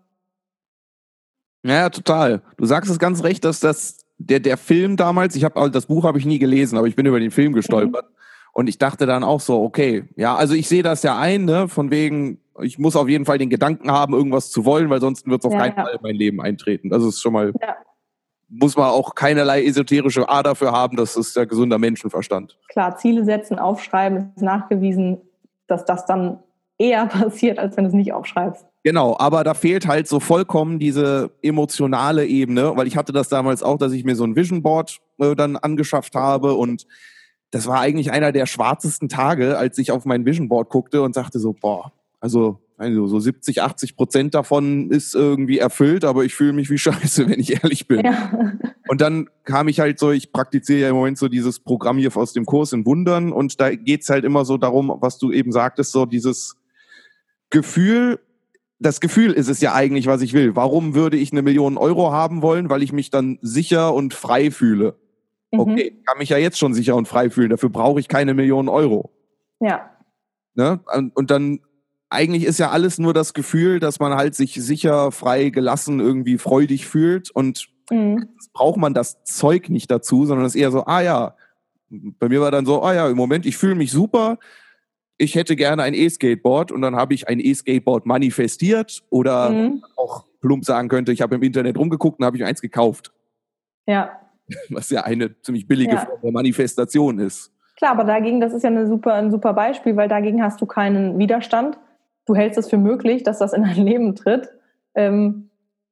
Ja, total. Du sagst es ganz recht, dass das der der Film damals, ich habe das Buch habe ich nie gelesen, aber ich bin über den Film gestolpert. Mhm. Und ich dachte dann auch so, okay, ja, also ich sehe das ja ein, ne, von wegen, ich muss auf jeden Fall den Gedanken haben, irgendwas zu wollen, weil sonst wird es auf ja, keinen ja. Fall in mein Leben eintreten. Das ist schon mal, ja. muss man auch keinerlei esoterische A dafür haben, das ist der gesunder Menschenverstand. Klar, Ziele setzen, aufschreiben, ist nachgewiesen, dass das dann eher passiert, als wenn du es nicht aufschreibst. Genau, aber da fehlt halt so vollkommen diese emotionale Ebene, weil ich hatte das damals auch, dass ich mir so ein Vision Board äh, dann angeschafft habe und das war eigentlich einer der schwarzesten Tage, als ich auf mein Vision Board guckte und sagte so, boah, also, also so siebzig, achtzig Prozent davon ist irgendwie erfüllt, aber ich fühle mich wie Scheiße, wenn ich ehrlich bin. Ja. Und dann kam ich halt so, ich praktiziere ja im Moment so dieses Programm hier aus dem Kurs in Wundern und da geht's halt immer so darum, was du eben sagtest, so dieses Gefühl, das Gefühl ist es ja eigentlich, was ich will. Warum würde ich eine Million Euro haben wollen? Weil ich mich dann sicher und frei fühle. Okay, ich kann mich ja jetzt schon sicher und frei fühlen. Dafür brauche ich keine Millionen Euro. Ja. Ne? Und dann, eigentlich ist ja alles nur das Gefühl, dass man halt sich sicher, frei, gelassen, irgendwie freudig fühlt. Und mhm. braucht man das Zeug nicht dazu, sondern es ist eher so, ah ja, bei mir war dann so, ah ja, im Moment, ich fühle mich super. Ich hätte gerne ein E-Skateboard und dann habe ich ein E-Skateboard manifestiert oder mhm. auch plump sagen könnte, ich habe im Internet rumgeguckt und habe ich eins gekauft. Ja. Was ja eine ziemlich billige ja. Form der Manifestation ist. Klar, aber dagegen, das ist ja eine super, ein super Beispiel, weil dagegen hast du keinen Widerstand. Du hältst es für möglich, dass das in dein Leben tritt. Ähm,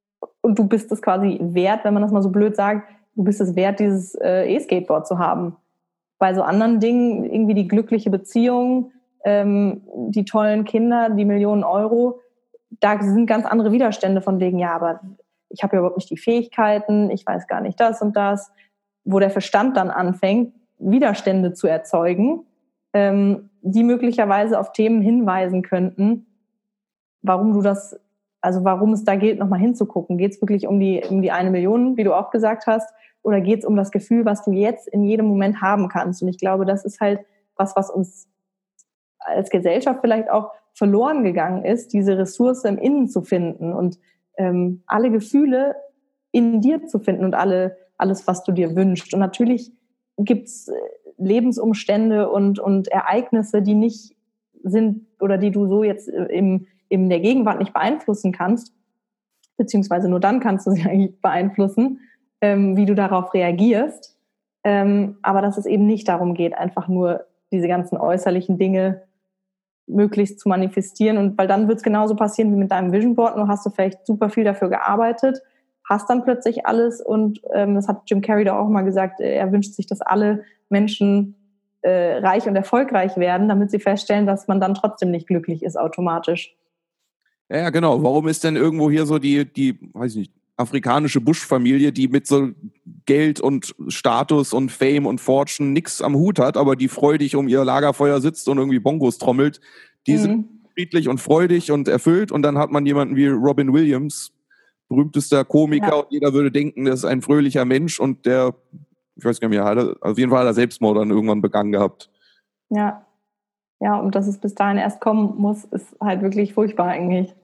und du bist es quasi wert, wenn man das mal so blöd sagt, du bist es wert, dieses äh, E-Skateboard zu haben. Bei so anderen Dingen, irgendwie die glückliche Beziehung, ähm, die tollen Kinder, die Millionen Euro, da sind ganz andere Widerstände von wegen, ja, aber ich habe ja überhaupt nicht die Fähigkeiten, ich weiß gar nicht das und das, wo der Verstand dann anfängt, Widerstände zu erzeugen, ähm, die möglicherweise auf Themen hinweisen könnten, warum du das, also warum es da gilt, nochmal hinzugucken. Geht es wirklich um die, um die eine Million, wie du auch gesagt hast, oder geht es um das Gefühl, was du jetzt in jedem Moment haben kannst? Und ich glaube, das ist halt was, was uns als Gesellschaft vielleicht auch verloren gegangen ist, diese Ressource im Innen zu finden und ähm, alle Gefühle in dir zu finden und alle, alles, was du dir wünschst. Und natürlich gibt's Lebensumstände und, und Ereignisse, die nicht sind oder die du so jetzt im, in der Gegenwart nicht beeinflussen kannst, beziehungsweise nur dann kannst du sie eigentlich beeinflussen, ähm, wie du darauf reagierst. Ähm, aber dass es eben nicht darum geht, einfach nur diese ganzen äußerlichen Dinge möglichst zu manifestieren. Und weil dann wird es genauso passieren wie mit deinem Vision Board, nur hast du vielleicht super viel dafür gearbeitet, hast dann plötzlich alles und ähm, das hat Jim Carrey da auch mal gesagt, er wünscht sich, dass alle Menschen äh, reich und erfolgreich werden, damit sie feststellen, dass man dann trotzdem nicht glücklich ist automatisch. Ja, ja, genau. Warum ist denn irgendwo hier so die, die, weiß ich nicht, afrikanische Bush-Familie, die mit so Geld und Status und Fame und Fortune nichts am Hut hat, aber die freudig um ihr Lagerfeuer sitzt und irgendwie Bongos trommelt, die mhm. sind friedlich und freudig und erfüllt, und dann hat man jemanden wie Robin Williams, berühmtester Komiker, ja. Und jeder würde denken, das ist ein fröhlicher Mensch, und der, ich weiß gar nicht mehr, hat er, auf jeden Fall hat er Selbstmord dann irgendwann begangen gehabt. Ja, ja, und dass es bis dahin erst kommen muss, ist halt wirklich furchtbar eigentlich.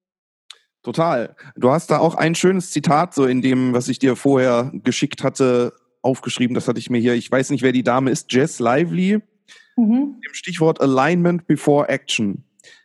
Total. Du hast da auch ein schönes Zitat so in dem, was ich dir vorher geschickt hatte, aufgeschrieben. Das hatte ich mir hier, ich weiß nicht, wer die Dame ist, Jess Lively, mhm. Im Stichwort Alignment before Action.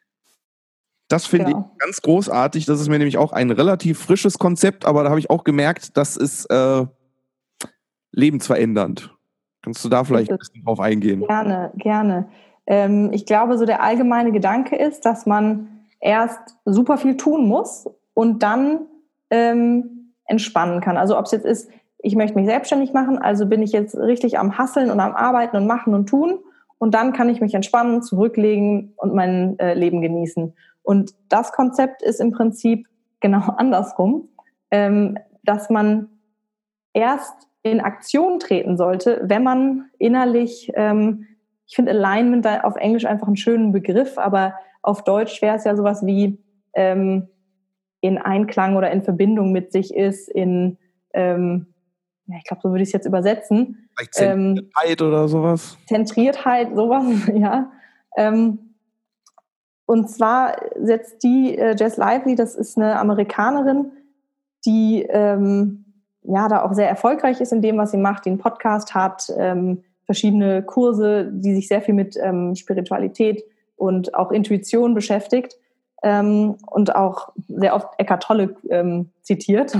Das finde genau. ich ganz großartig. Das ist mir nämlich auch ein relativ frisches Konzept, aber da habe ich auch gemerkt, das ist äh, lebensverändernd. Kannst du da vielleicht ein bisschen drauf eingehen? Gerne, gerne. Ähm, ich glaube, so der allgemeine Gedanke ist, dass man erst super viel tun muss und dann ähm, entspannen kann. Also ob es jetzt ist, ich möchte mich selbstständig machen, also bin ich jetzt richtig am Hasseln und am Arbeiten und machen und tun, und dann kann ich mich entspannen, zurücklegen und mein äh, Leben genießen. Und das Konzept ist im Prinzip genau andersrum, ähm, dass man erst in Aktion treten sollte, wenn man innerlich, ähm, ich finde Alignment da auf Englisch einfach einen schönen Begriff, aber auf Deutsch wäre es ja sowas wie ähm, in Einklang oder in Verbindung mit sich ist, in, ähm, ja, ich glaube, so würde ich es jetzt übersetzen. Vielleicht Zentriertheit ähm, oder sowas? Zentriertheit, sowas, ja. Ähm, und zwar setzt die äh, Jess Lively, das ist eine Amerikanerin, die ähm, ja da auch sehr erfolgreich ist in dem, was sie macht, die einen Podcast hat, ähm, verschiedene Kurse, die sich sehr viel mit ähm, Spiritualität und auch Intuition beschäftigt, ähm, und auch sehr oft Eckhart Tolle ähm, zitiert.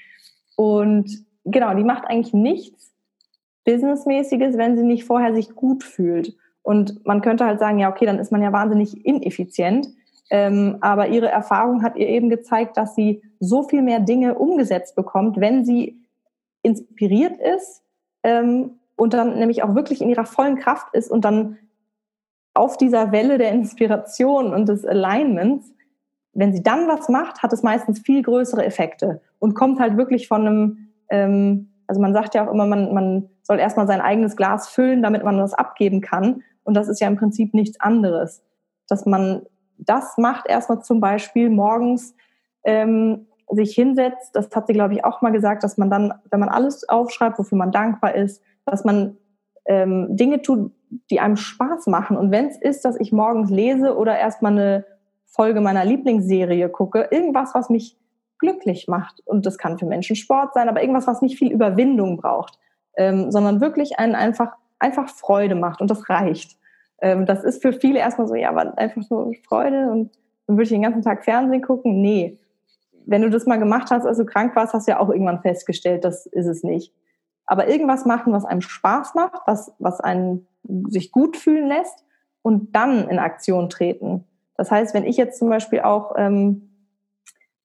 Und genau, die macht eigentlich nichts Businessmäßiges, wenn sie nicht vorher sich gut fühlt. Und man könnte halt sagen, ja, okay, dann ist man ja wahnsinnig ineffizient. Ähm, aber ihre Erfahrung hat ihr eben gezeigt, dass sie so viel mehr Dinge umgesetzt bekommt, wenn sie inspiriert ist ähm, und dann nämlich auch wirklich in ihrer vollen Kraft ist und dann auf dieser Welle der Inspiration und des Alignments, wenn sie dann was macht, hat es meistens viel größere Effekte und kommt halt wirklich von einem, ähm, also man sagt ja auch immer, man, man soll erstmal sein eigenes Glas füllen, damit man das abgeben kann. Und das ist ja im Prinzip nichts anderes. Dass man das macht, erstmal zum Beispiel morgens ähm, sich hinsetzt, das hat sie, glaube ich, auch mal gesagt, dass man dann, wenn man alles aufschreibt, wofür man dankbar ist, dass man ähm, Dinge tut, die einem Spaß machen. Und wenn es ist, dass ich morgens lese oder erstmal eine Folge meiner Lieblingsserie gucke, irgendwas, was mich glücklich macht. Und das kann für Menschen Sport sein, aber irgendwas, was nicht viel Überwindung braucht, ähm, sondern wirklich einen einfach, einfach Freude macht. Und das reicht. Ähm, das ist für viele erstmal so, ja, aber einfach so Freude und dann würde ich den ganzen Tag Fernsehen gucken. Nee. Wenn du das mal gemacht hast, als du krank warst, hast du ja auch irgendwann festgestellt, das ist es nicht. Aber irgendwas machen, was einem Spaß macht, was, was einen sich gut fühlen lässt und dann in Aktion treten. Das heißt, wenn ich jetzt zum Beispiel auch ähm,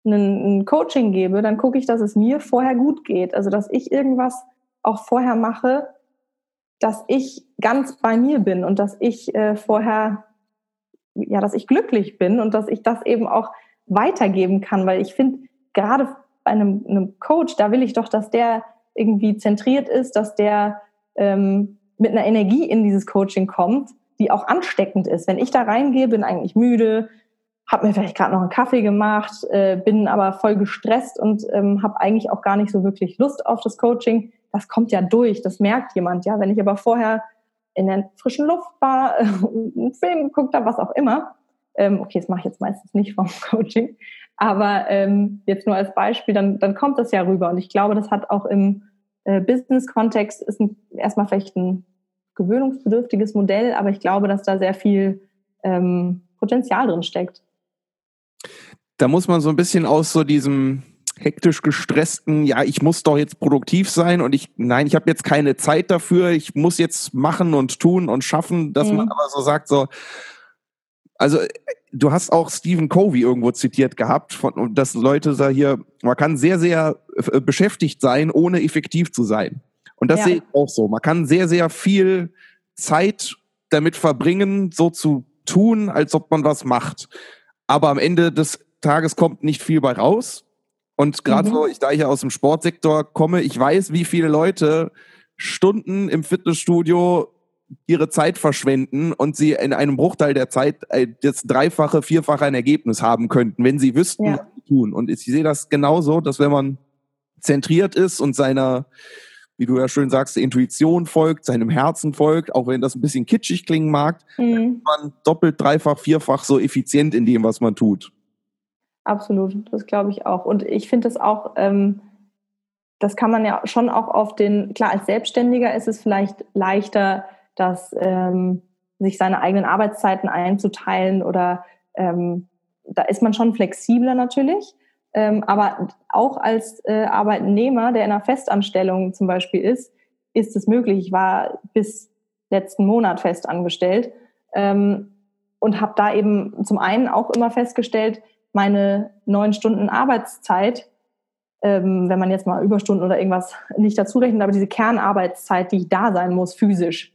ein Coaching gebe, dann gucke ich, dass es mir vorher gut geht. Also dass ich irgendwas auch vorher mache, dass ich ganz bei mir bin und dass ich äh, vorher, ja, dass ich glücklich bin und dass ich das eben auch weitergeben kann. Weil ich finde, gerade bei einem, einem Coach, da will ich doch, dass der irgendwie zentriert ist, dass der ähm, mit einer Energie in dieses Coaching kommt, die auch ansteckend ist. Wenn ich da reingehe, bin eigentlich müde, habe mir vielleicht gerade noch einen Kaffee gemacht, äh, bin aber voll gestresst und ähm, habe eigentlich auch gar nicht so wirklich Lust auf das Coaching. Das kommt ja durch, das merkt jemand. Ja, wenn ich aber vorher in der frischen Luft war, äh, einen Film geguckt habe, was auch immer. Ähm, okay, das mache ich jetzt meistens nicht vom Coaching, aber ähm, jetzt nur als Beispiel, dann, dann kommt das ja rüber. Und ich glaube, das hat auch im äh, Business-Kontext ist ein, erstmal vielleicht ein gewöhnungsbedürftiges Modell, aber ich glaube, dass da sehr viel ähm, Potenzial drin steckt. Da muss man so ein bisschen aus so diesem hektisch gestressten, ja, ich muss doch jetzt produktiv sein und ich, nein, ich habe jetzt keine Zeit dafür, ich muss jetzt machen und tun und schaffen, dass mhm. man aber so sagt, so, also du hast auch Stephen Covey irgendwo zitiert gehabt, von, dass Leute da hier, man kann sehr, sehr äh, beschäftigt sein, ohne effektiv zu sein. Und das ja. sehe ich auch so. Man kann sehr, sehr viel Zeit damit verbringen, so zu tun, als ob man was macht. Aber am Ende des Tages kommt nicht viel bei raus. Und gerade mhm. so, ich, da ich ja aus dem Sportsektor komme, ich weiß, wie viele Leute Stunden im Fitnessstudio ihre Zeit verschwenden und sie in einem Bruchteil der Zeit das dreifache, vierfache ein Ergebnis haben könnten, wenn sie wüssten, ja. was sie tun. Und ich sehe das genauso, dass wenn man zentriert ist und seiner, wie du ja schön sagst, der Intuition folgt, seinem Herzen folgt, auch wenn das ein bisschen kitschig klingen mag, mhm. dann ist man doppelt, dreifach, vierfach so effizient in dem, was man tut. Absolut, das glaube ich auch. Und ich finde das auch, ähm, das kann man ja schon auch auf den, klar, als Selbstständiger ist es vielleicht leichter, dass ähm, sich seine eigenen Arbeitszeiten einzuteilen oder ähm, da ist man schon flexibler natürlich. Ähm, aber auch als äh, Arbeitnehmer, der in einer Festanstellung zum Beispiel ist, ist es möglich. Ich war bis letzten Monat festangestellt ähm, und habe da eben zum einen auch immer festgestellt, meine neun Stunden Arbeitszeit, ähm, wenn man jetzt mal Überstunden oder irgendwas nicht dazu rechnet, aber diese Kernarbeitszeit, die ich da sein muss, physisch,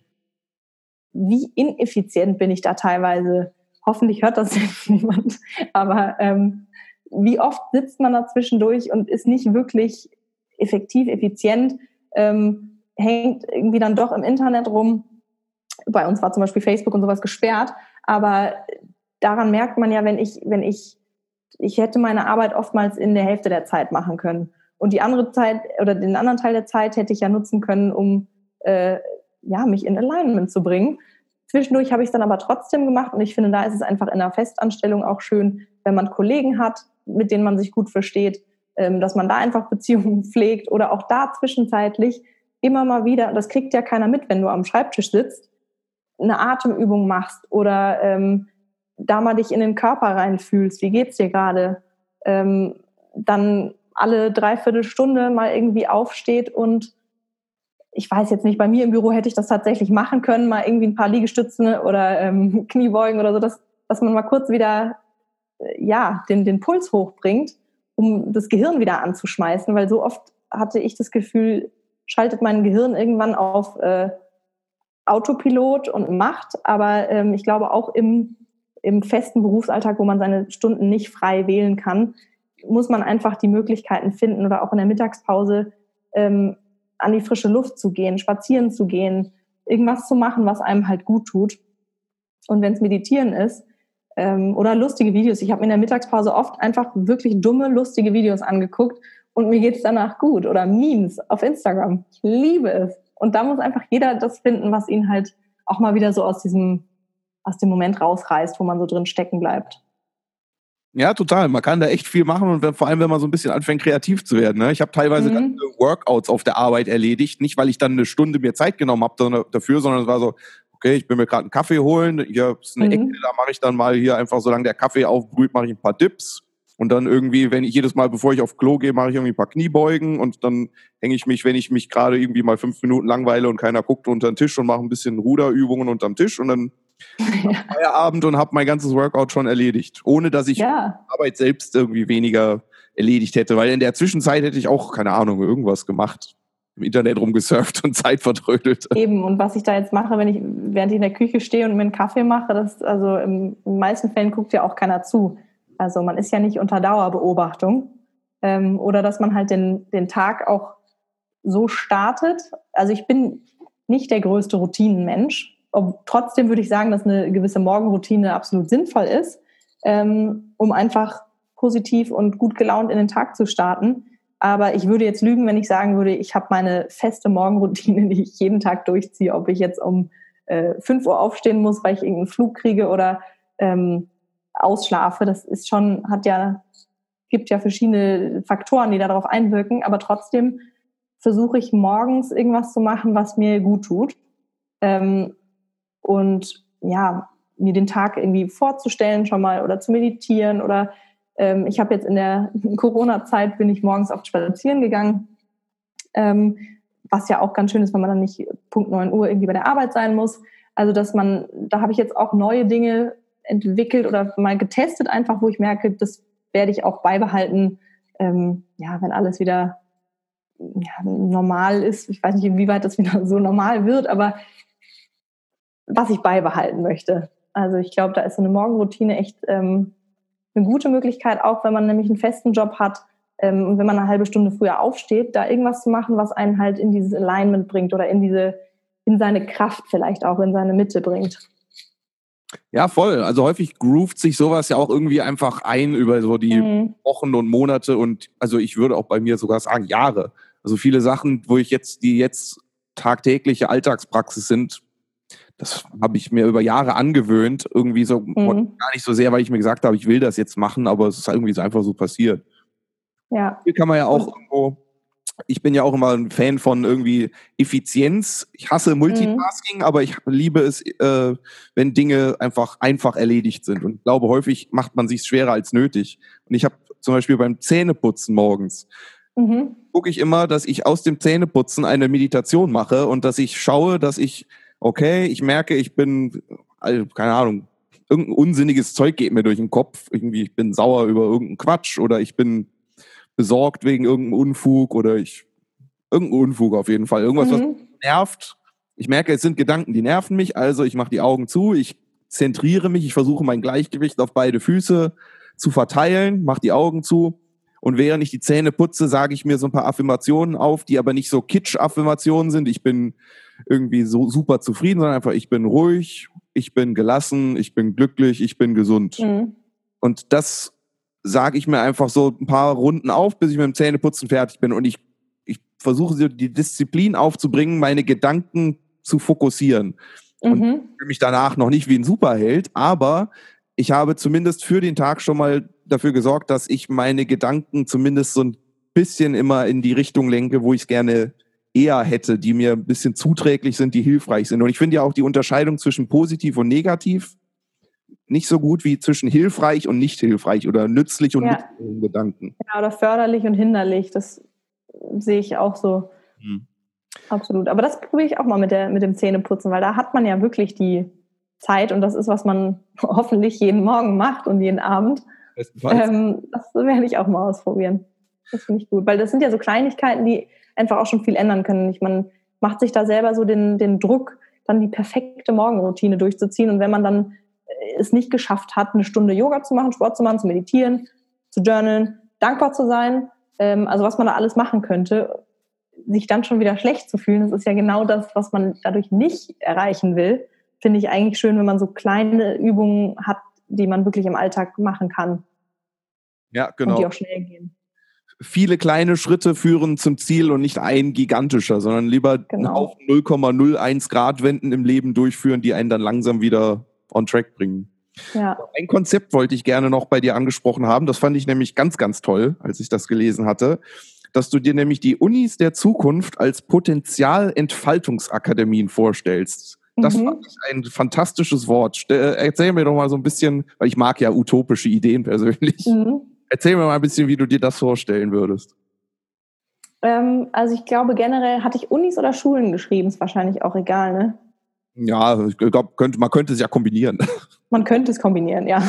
wie ineffizient bin ich da teilweise. Hoffentlich hört das jetzt niemand, aber ähm, wie oft sitzt man da zwischendurch und ist nicht wirklich effektiv, effizient, ähm, hängt irgendwie dann doch im Internet rum. Bei uns war zum Beispiel Facebook und sowas gesperrt, aber daran merkt man ja, wenn ich, wenn ich, ich hätte meine Arbeit oftmals in der Hälfte der Zeit machen können. Und die andere Zeit oder den anderen Teil der Zeit hätte ich ja nutzen können, um äh, ja, mich in Alignment zu bringen. Zwischendurch habe ich es dann aber trotzdem gemacht und ich finde, da ist es einfach in einer Festanstellung auch schön, wenn man Kollegen hat, mit denen man sich gut versteht, ähm, dass man da einfach Beziehungen pflegt oder auch da zwischenzeitlich immer mal wieder, das kriegt ja keiner mit, wenn du am Schreibtisch sitzt, eine Atemübung machst oder ähm, da mal dich in den Körper reinfühlst, wie geht's dir gerade, ähm, dann alle dreiviertel Stunde mal irgendwie aufsteht und ich weiß jetzt nicht, bei mir im Büro hätte ich das tatsächlich machen können, mal irgendwie ein paar Liegestützen oder ähm, Kniebeugen oder so, dass, dass man mal kurz wieder äh, ja, den, den Puls hochbringt, um das Gehirn wieder anzuschmeißen, weil so oft hatte ich das Gefühl, schaltet mein Gehirn irgendwann auf äh, Autopilot und macht, aber ähm, ich glaube auch im, im festen Berufsalltag, wo man seine Stunden nicht frei wählen kann, muss man einfach die Möglichkeiten finden oder auch in der Mittagspause ähm, an die frische Luft zu gehen, spazieren zu gehen, irgendwas zu machen, was einem halt gut tut. Und wenn es Meditieren ist ähm, oder lustige Videos. Ich habe mir in der Mittagspause oft einfach wirklich dumme, lustige Videos angeguckt und mir geht's danach gut. Oder Memes auf Instagram. Ich liebe es. Und da muss einfach jeder das finden, was ihn halt auch mal wieder so aus diesem, aus dem Moment rausreißt, wo man so drin stecken bleibt. Ja, total. Man kann da echt viel machen und wenn, vor allem, wenn man so ein bisschen anfängt, kreativ zu werden. Ne? Ich habe teilweise mhm. ganze Workouts auf der Arbeit erledigt, nicht weil ich dann eine Stunde mir Zeit genommen habe dafür, sondern es war so, okay, ich bin mir gerade einen Kaffee holen, hier ist eine mhm. Ecke, da mache ich dann mal hier einfach, solange der Kaffee aufbrüht, mache ich ein paar Dips und dann irgendwie, wenn ich jedes Mal, bevor ich auf Klo gehe, mache ich irgendwie ein paar Kniebeugen und dann hänge ich mich, wenn ich mich gerade irgendwie mal fünf Minuten langweile und keiner guckt, unter den Tisch und mache ein bisschen Ruderübungen unterm Tisch und dann ja. Feierabend und habe mein ganzes Workout schon erledigt, ohne dass ich ja. Arbeit selbst irgendwie weniger erledigt hätte, weil in der Zwischenzeit hätte ich auch, keine Ahnung, irgendwas gemacht, im Internet rumgesurft und Zeit vertrödelt. Eben, und was ich da jetzt mache, wenn ich, während ich in der Küche stehe und mir einen Kaffee mache, das, also in den meisten Fällen guckt ja auch keiner zu. Also man ist ja nicht unter Dauerbeobachtung. Ähm, oder dass man halt den, den Tag auch so startet. Also ich bin nicht der größte Routinenmensch. Ob, trotzdem würde ich sagen, dass eine gewisse Morgenroutine absolut sinnvoll ist, ähm, um einfach positiv und gut gelaunt in den Tag zu starten. Aber ich würde jetzt lügen, wenn ich sagen würde, ich habe meine feste Morgenroutine, die ich jeden Tag durchziehe, ob ich jetzt um äh, fünf Uhr aufstehen muss, weil ich irgendeinen Flug kriege oder ähm, ausschlafe. Das ist schon, hat ja, gibt ja verschiedene Faktoren, die darauf einwirken. Aber trotzdem versuche ich morgens irgendwas zu machen, was mir gut tut. Ähm, und ja, mir den Tag irgendwie vorzustellen schon mal oder zu meditieren oder ähm, ich habe jetzt in der Corona-Zeit bin ich morgens oft spazieren gegangen, ähm, was ja auch ganz schön ist, wenn man dann nicht Punkt neun Uhr irgendwie bei der Arbeit sein muss. Also dass man, da habe ich jetzt auch neue Dinge entwickelt oder mal getestet einfach, wo ich merke, das werde ich auch beibehalten, ähm, ja, wenn alles wieder ja, normal ist. Ich weiß nicht, inwieweit das wieder so normal wird, aber was ich beibehalten möchte. Also ich glaube, da ist so eine Morgenroutine echt ähm, eine gute Möglichkeit, auch wenn man nämlich einen festen Job hat ähm, und wenn man eine halbe Stunde früher aufsteht, da irgendwas zu machen, was einen halt in dieses Alignment bringt oder in diese, in seine Kraft vielleicht auch, in seine Mitte bringt. Ja, voll. Also häufig groovt sich sowas ja auch irgendwie einfach ein über so die mhm. Wochen und Monate und also ich würde auch bei mir sogar sagen Jahre. Also viele Sachen, wo ich jetzt, die jetzt tagtägliche Alltagspraxis sind, das habe ich mir über Jahre angewöhnt, irgendwie so mhm. gar nicht so sehr, weil ich mir gesagt habe, ich will das jetzt machen, aber es ist halt irgendwie so einfach so passiert. Ja. Hier kann man ja auch irgendwo, ich bin ja auch immer ein Fan von irgendwie Effizienz. Ich hasse Multitasking, mhm. aber ich liebe es, äh, wenn Dinge einfach einfach erledigt sind. Und ich glaube, häufig macht man sich schwerer als nötig. Und ich habe zum Beispiel beim Zähneputzen morgens, mhm. gucke ich immer, dass ich aus dem Zähneputzen eine Meditation mache und dass ich schaue, dass ich okay, ich merke, ich bin, also, keine Ahnung, irgendein unsinniges Zeug geht mir durch den Kopf. Irgendwie, ich bin sauer über irgendeinen Quatsch oder ich bin besorgt wegen irgendeinem Unfug oder ich, irgendein Unfug auf jeden Fall. Irgendwas, mhm. was mich nervt. Ich merke, es sind Gedanken, die nerven mich, also ich mache die Augen zu, ich zentriere mich, ich versuche mein Gleichgewicht auf beide Füße zu verteilen, mache die Augen zu. Und während ich die Zähne putze, sage ich mir so ein paar Affirmationen auf, die aber nicht so Kitsch-Affirmationen sind. Ich bin irgendwie so super zufrieden, sondern einfach, ich bin ruhig, ich bin gelassen, ich bin glücklich, ich bin gesund. Mhm. Und das sage ich mir einfach so ein paar Runden auf, bis ich mit dem Zähneputzen fertig bin. Und ich, ich versuche die Disziplin aufzubringen, meine Gedanken zu fokussieren. Mhm. Und ich fühle mich danach noch nicht wie ein Superheld, aber ich habe zumindest für den Tag schon mal dafür gesorgt, dass ich meine Gedanken zumindest so ein bisschen immer in die Richtung lenke, wo ich es gerne eher hätte, die mir ein bisschen zuträglich sind, die hilfreich sind. Und ich finde ja auch die Unterscheidung zwischen positiv und negativ nicht so gut wie zwischen hilfreich und nicht hilfreich oder nützlich und ja. nützlichen Gedanken. Ja, oder förderlich und hinderlich, das sehe ich auch so. Hm. Absolut. Aber das probiere ich auch mal mit, der, mit dem Zähneputzen, weil da hat man ja wirklich die Zeit und das ist, was man hoffentlich jeden Morgen macht und jeden Abend. Ähm, das werde ich auch mal ausprobieren. Das finde ich gut, weil das sind ja so Kleinigkeiten, die einfach auch schon viel ändern können. Ich, man macht sich da selber so den, den Druck, dann die perfekte Morgenroutine durchzuziehen. Und wenn man dann es nicht geschafft hat, eine Stunde Yoga zu machen, Sport zu machen, zu meditieren, zu journalen, dankbar zu sein, ähm, also was man da alles machen könnte, sich dann schon wieder schlecht zu fühlen, das ist ja genau das, was man dadurch nicht erreichen will. Finde ich eigentlich schön, wenn man so kleine Übungen hat, die man wirklich im Alltag machen kann. Ja, genau. Und die auch schnell gehen. Viele kleine Schritte führen zum Ziel und nicht ein gigantischer, sondern lieber genau. einen Haufen null Komma null eins Grad Wenden im Leben durchführen, die einen dann langsam wieder on track bringen. Ja. Ein Konzept wollte ich gerne noch bei dir angesprochen haben. Das fand ich nämlich ganz, ganz toll, als ich das gelesen hatte, dass du dir nämlich die Unis der Zukunft als Potenzialentfaltungsakademien vorstellst. Das mhm. fand ich ein fantastisches Wort. Erzähl mir doch mal so ein bisschen, weil ich mag ja utopische Ideen persönlich. Mhm. Erzähl mir mal ein bisschen, wie du dir das vorstellen würdest. Ähm, also ich glaube generell, hatte ich Unis oder Schulen geschrieben, ist wahrscheinlich auch egal, ne? Ja, ich glaube, könnte, man könnte es ja kombinieren. Man könnte es kombinieren, ja.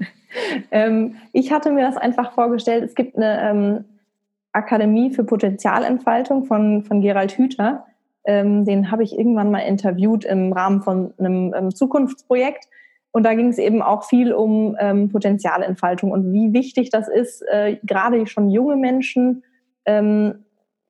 ähm, ich hatte mir das einfach vorgestellt, es gibt eine ähm, Akademie für Potenzialentfaltung von, von Gerald Hüther. Ähm, den habe ich irgendwann mal interviewt im Rahmen von einem ähm, Zukunftsprojekt. Und da ging es eben auch viel um ähm, Potenzialentfaltung und wie wichtig das ist, äh, gerade schon junge Menschen ähm,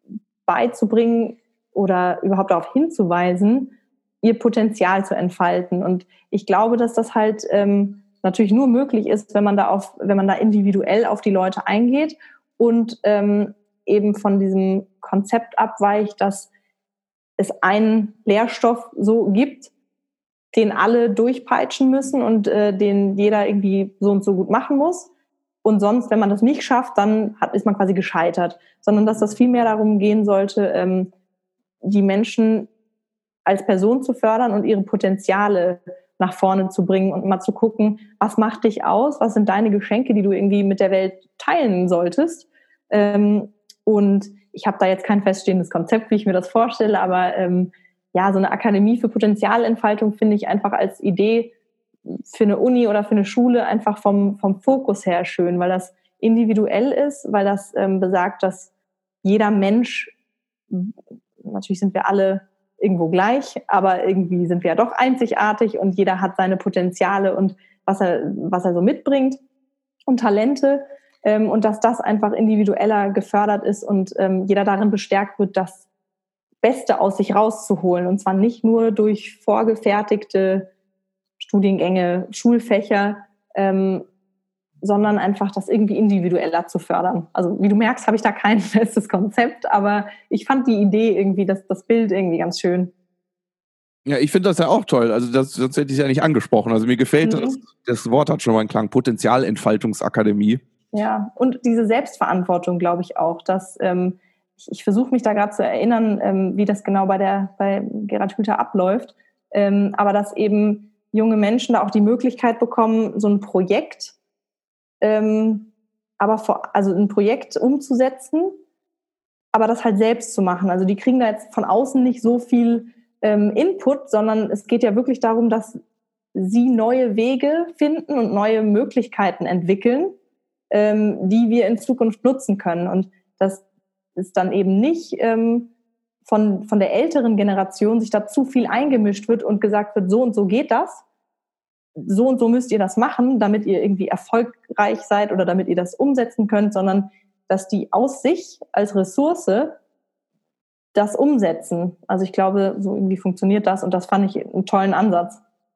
beizubringen oder überhaupt darauf hinzuweisen, ihr Potenzial zu entfalten. Und ich glaube, dass das halt ähm, natürlich nur möglich ist, wenn man da auf, wenn man da individuell auf die Leute eingeht und ähm, eben von diesem Konzept abweicht, dass es einen Lehrstoff so gibt, den alle durchpeitschen müssen und äh, den jeder irgendwie so und so gut machen muss. Und sonst, wenn man das nicht schafft, dann hat, ist man quasi gescheitert. Sondern dass das viel mehr darum gehen sollte, ähm, die Menschen als Person zu fördern und ihre Potenziale nach vorne zu bringen und mal zu gucken, was macht dich aus, was sind deine Geschenke, die du irgendwie mit der Welt teilen solltest. Ähm, und ich habe da jetzt kein feststehendes Konzept, wie ich mir das vorstelle, aber ähm, ja, so eine Akademie für Potenzialentfaltung finde ich einfach als Idee für eine Uni oder für eine Schule einfach vom, vom Fokus her schön, weil das individuell ist, weil das ähm, besagt, dass jeder Mensch, natürlich sind wir alle irgendwo gleich, aber irgendwie sind wir ja doch einzigartig und jeder hat seine Potenziale und was er, was er so mitbringt und Talente ähm, und dass das einfach individueller gefördert ist und ähm, jeder darin bestärkt wird, das Beste aus sich rauszuholen und zwar nicht nur durch vorgefertigte Studiengänge, Schulfächer, ähm, sondern einfach das irgendwie individueller zu fördern. Also wie du merkst, habe ich da kein festes Konzept, aber ich fand die Idee irgendwie, das, das Bild irgendwie ganz schön. Ja, ich finde das ja auch toll. Also das, sonst hätte ich es ja nicht angesprochen. Also mir gefällt Mhm. das, das Wort hat schon mal einen Klang, Potenzialentfaltungsakademie. Ja, und diese Selbstverantwortung, glaube ich auch, dass ähm, ich, ich versuche mich da gerade zu erinnern, ähm, wie das genau bei der bei Gerald Hüther abläuft, ähm, aber dass eben junge Menschen da auch die Möglichkeit bekommen, so ein Projekt, ähm, aber vor, also ein Projekt umzusetzen, aber das halt selbst zu machen. Also die kriegen da jetzt von außen nicht so viel ähm, Input, sondern es geht ja wirklich darum, dass sie neue Wege finden und neue Möglichkeiten entwickeln, ähm, die wir in Zukunft nutzen können. Und das ist dann eben nicht ähm, von, von der älteren Generation sich da zu viel eingemischt wird und gesagt wird, so und so geht das, so und so müsst ihr das machen, damit ihr irgendwie erfolgreich seid oder damit ihr das umsetzen könnt, sondern dass die aus sich als Ressource das umsetzen. Also ich glaube, so irgendwie funktioniert das und das fand ich einen tollen Ansatz.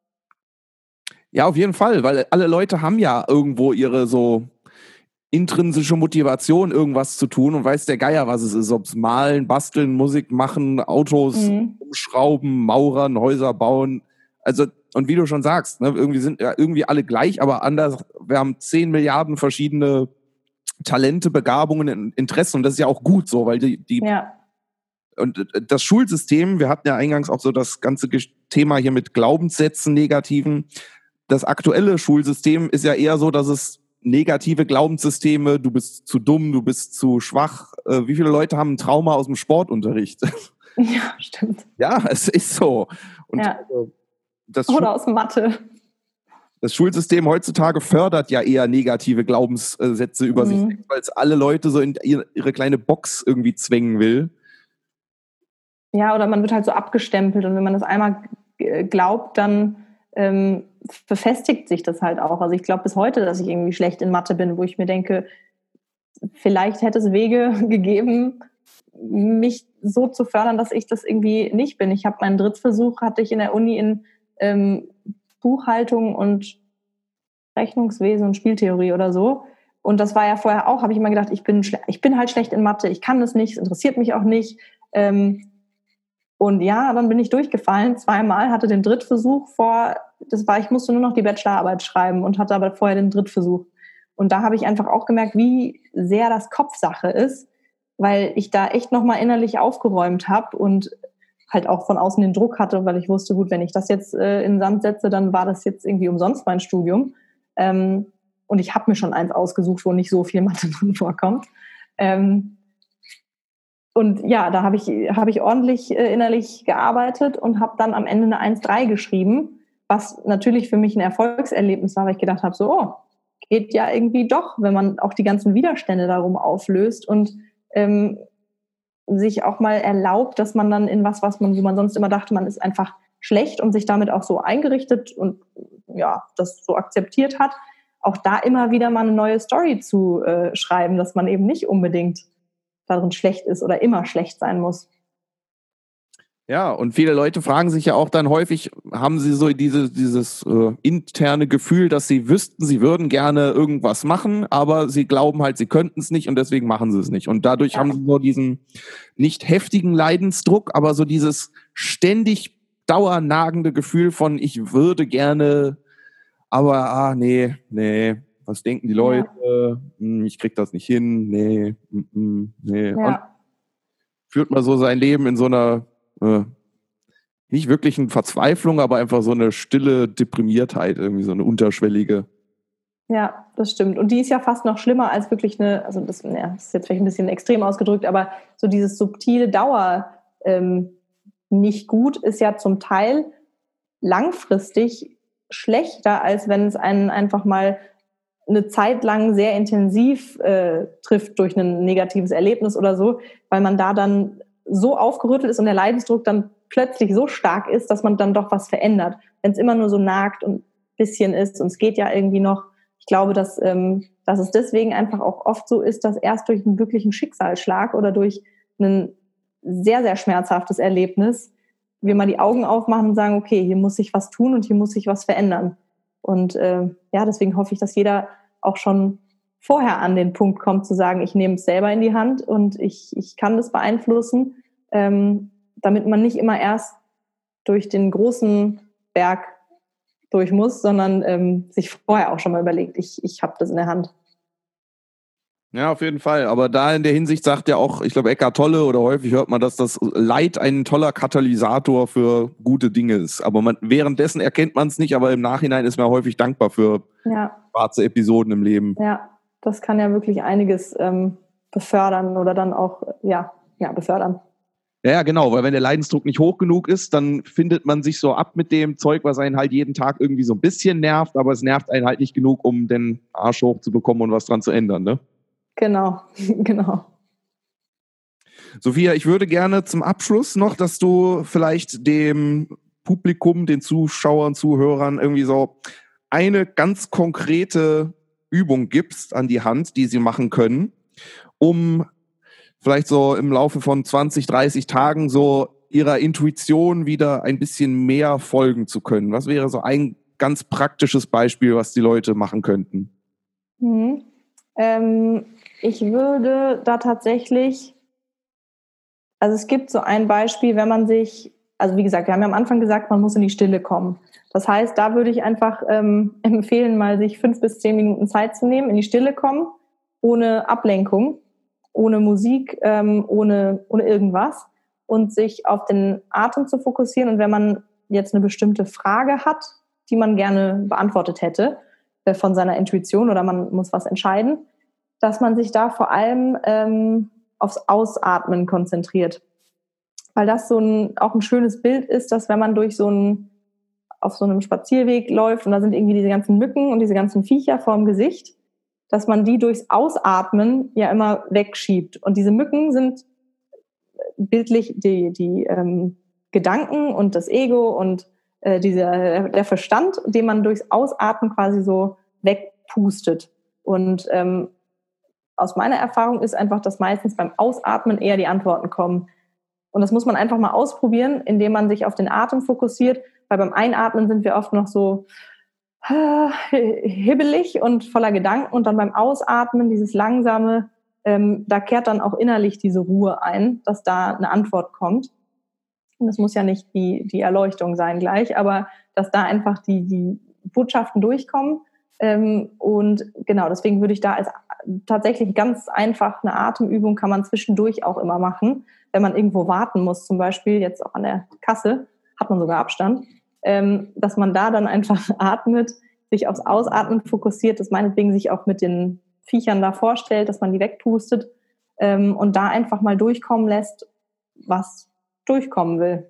Ja, auf jeden Fall, weil alle Leute haben ja irgendwo ihre so intrinsische Motivation, irgendwas zu tun und weiß der Geier, was es ist. Ob es malen, basteln, Musik machen, Autos Mhm. umschrauben, Maurern, Häuser bauen. Also, und wie du schon sagst, ne, irgendwie sind ja irgendwie alle gleich, aber anders. Wir haben zehn Milliarden verschiedene Talente, Begabungen, Interessen und das ist ja auch gut so, weil die, die Ja. und das Schulsystem, wir hatten ja eingangs auch so das ganze Thema hier mit Glaubenssätzen, negativen. Das aktuelle Schulsystem ist ja eher so, dass es negative Glaubenssysteme, du bist zu dumm, du bist zu schwach. Äh, wie viele Leute haben ein Trauma aus dem Sportunterricht? Ja, stimmt. Ja, es ist so. Und ja. das, Oder Schul- aus Mathe. das Schulsystem heutzutage fördert ja eher negative Glaubenssätze über sich, Mhm. weil es alle Leute so in ihre, ihre kleine Box irgendwie zwängen will. Ja, oder man wird halt so abgestempelt und wenn man das einmal g- glaubt, dann ähm, befestigt sich das halt auch. Also ich glaube bis heute, dass ich irgendwie schlecht in Mathe bin, wo ich mir denke, vielleicht hätte es Wege gegeben, mich so zu fördern, dass ich das irgendwie nicht bin. Ich habe meinen Drittversuch, hatte ich in der Uni in ähm, Buchhaltung und Rechnungswesen und Spieltheorie oder so. Und das war ja vorher auch, habe ich immer gedacht, ich bin, schle- ich bin halt schlecht in Mathe, ich kann das nicht, es interessiert mich auch nicht. Ähm, und ja, dann bin ich durchgefallen, zweimal, hatte den Drittversuch vor, das war, ich musste nur noch die Bachelorarbeit schreiben und hatte aber vorher den Drittversuch. Und da habe ich einfach auch gemerkt, wie sehr das Kopfsache ist, weil ich da echt nochmal innerlich aufgeräumt habe und halt auch von außen den Druck hatte, weil ich wusste, gut, wenn ich das jetzt äh, in den Sand setze, dann war das jetzt irgendwie umsonst mein Studium. Ähm, und ich habe mir schon eins ausgesucht, wo nicht so viel Mathe drin vorkommt. Ähm, und ja, da habe ich, hab ich ordentlich äh, innerlich gearbeitet und habe dann am Ende eine eins Komma drei geschrieben, was natürlich für mich ein Erfolgserlebnis war, weil ich gedacht habe, so, oh, geht ja irgendwie doch, wenn man auch die ganzen Widerstände darum auflöst und ähm, sich auch mal erlaubt, dass man dann in was, was man, wo man sonst immer dachte, man ist einfach schlecht und sich damit auch so eingerichtet und ja, das so akzeptiert hat, auch da immer wieder mal eine neue Story zu äh, schreiben, dass man eben nicht unbedingt darin schlecht ist oder immer schlecht sein muss. Ja, und viele Leute fragen sich ja auch dann häufig, haben sie so diese, dieses äh, interne Gefühl, dass sie wüssten, sie würden gerne irgendwas machen, aber sie glauben halt, sie könnten es nicht und deswegen machen sie es nicht. Und dadurch ja. haben sie so diesen nicht heftigen Leidensdruck, aber so dieses ständig dauernagende Gefühl von, ich würde gerne, aber ah, nee, nee, was denken die Leute? Ja. Hm, ich krieg das nicht hin, nee, mm, nee. Ja. Und führt man so sein Leben in so einer Äh, nicht wirklich eine Verzweiflung, aber einfach so eine stille Deprimiertheit, irgendwie so eine unterschwellige. Ja, das stimmt. Und die ist ja fast noch schlimmer als wirklich eine, also das, ja, das ist jetzt vielleicht ein bisschen extrem ausgedrückt, aber so dieses subtile Dauer ähm, nicht gut ist ja zum Teil langfristig schlechter, als wenn es einen einfach mal eine Zeit lang sehr intensiv äh, trifft durch ein negatives Erlebnis oder so, weil man da dann so aufgerüttelt ist und der Leidensdruck dann plötzlich so stark ist, dass man dann doch was verändert. Wenn es immer nur so nagt und ein bisschen ist und es geht ja irgendwie noch, ich glaube, dass, ähm, dass es deswegen einfach auch oft so ist, dass erst durch einen wirklichen Schicksalsschlag oder durch ein sehr, sehr schmerzhaftes Erlebnis wir mal die Augen aufmachen und sagen, okay, hier muss sich was tun und hier muss sich was verändern. Und äh, ja, deswegen hoffe ich, dass jeder auch schon vorher an den Punkt kommt, zu sagen, ich nehme es selber in die Hand und ich, ich kann das beeinflussen, ähm, damit man nicht immer erst durch den großen Berg durch muss, sondern ähm, sich vorher auch schon mal überlegt, ich, ich habe das in der Hand. Ja, auf jeden Fall. Aber da in der Hinsicht sagt ja auch, ich glaube, Eckhart Tolle oder häufig hört man, dass das Leid ein toller Katalysator für gute Dinge ist. Aber man, währenddessen erkennt man es nicht, aber im Nachhinein ist man häufig dankbar für ja. schwarze Episoden im Leben. Ja, das kann ja wirklich einiges ähm, befördern oder dann auch, ja, ja, befördern. Ja, genau, weil wenn der Leidensdruck nicht hoch genug ist, dann findet man sich so ab mit dem Zeug, was einen halt jeden Tag irgendwie so ein bisschen nervt, aber es nervt einen halt nicht genug, um den Arsch hochzubekommen und was dran zu ändern, ne? Genau, genau. Sophia, ich würde gerne zum Abschluss noch, dass du vielleicht dem Publikum, den Zuschauern, Zuhörern irgendwie so eine ganz konkrete Übung gibst an die Hand, die sie machen können, um vielleicht so im Laufe von zwanzig, dreißig Tagen so ihrer Intuition wieder ein bisschen mehr folgen zu können. Was wäre so ein ganz praktisches Beispiel, was die Leute machen könnten? Mhm. Ähm, ich würde da tatsächlich, also es gibt so ein Beispiel, wenn man sich, also wie gesagt, wir haben ja am Anfang gesagt, man muss in die Stille kommen. Das heißt, da würde ich einfach ähm, empfehlen, mal sich fünf bis zehn Minuten Zeit zu nehmen, in die Stille kommen, ohne Ablenkung, ohne Musik, ähm, ohne, ohne irgendwas und sich auf den Atem zu fokussieren. Und wenn man jetzt eine bestimmte Frage hat, die man gerne beantwortet hätte äh, von seiner Intuition oder man muss was entscheiden, dass man sich da vor allem ähm, aufs Ausatmen konzentriert. Weil das so ein, auch ein schönes Bild ist, dass wenn man durch so ein, auf so einem Spazierweg läuft und da sind irgendwie diese ganzen Mücken und diese ganzen Viecher vorm Gesicht, dass man die durchs Ausatmen ja immer wegschiebt. Und diese Mücken sind bildlich die, die ähm, Gedanken und das Ego und äh, dieser, der Verstand, den man durchs Ausatmen quasi so wegpustet. Und ähm, aus meiner Erfahrung ist einfach, dass meistens beim Ausatmen eher die Antworten kommen. Und das muss man einfach mal ausprobieren, indem man sich auf den Atem fokussiert, weil beim Einatmen sind wir oft noch so hibbelig und voller Gedanken und dann beim Ausatmen, dieses langsame, ähm, da kehrt dann auch innerlich diese Ruhe ein, dass da eine Antwort kommt. Und das muss ja nicht die, die Erleuchtung sein gleich, aber dass da einfach die, die Botschaften durchkommen. Ähm, und genau, deswegen würde ich da als tatsächlich ganz einfach eine Atemübung kann man zwischendurch auch immer machen, wenn man irgendwo warten muss, zum Beispiel jetzt auch an der Kasse, hat man sogar Abstand. Ähm, dass man da dann einfach atmet, sich aufs Ausatmen fokussiert, das meinetwegen sich auch mit den Viechern da vorstellt, dass man die wegpustet ähm, und da einfach mal durchkommen lässt, was durchkommen will.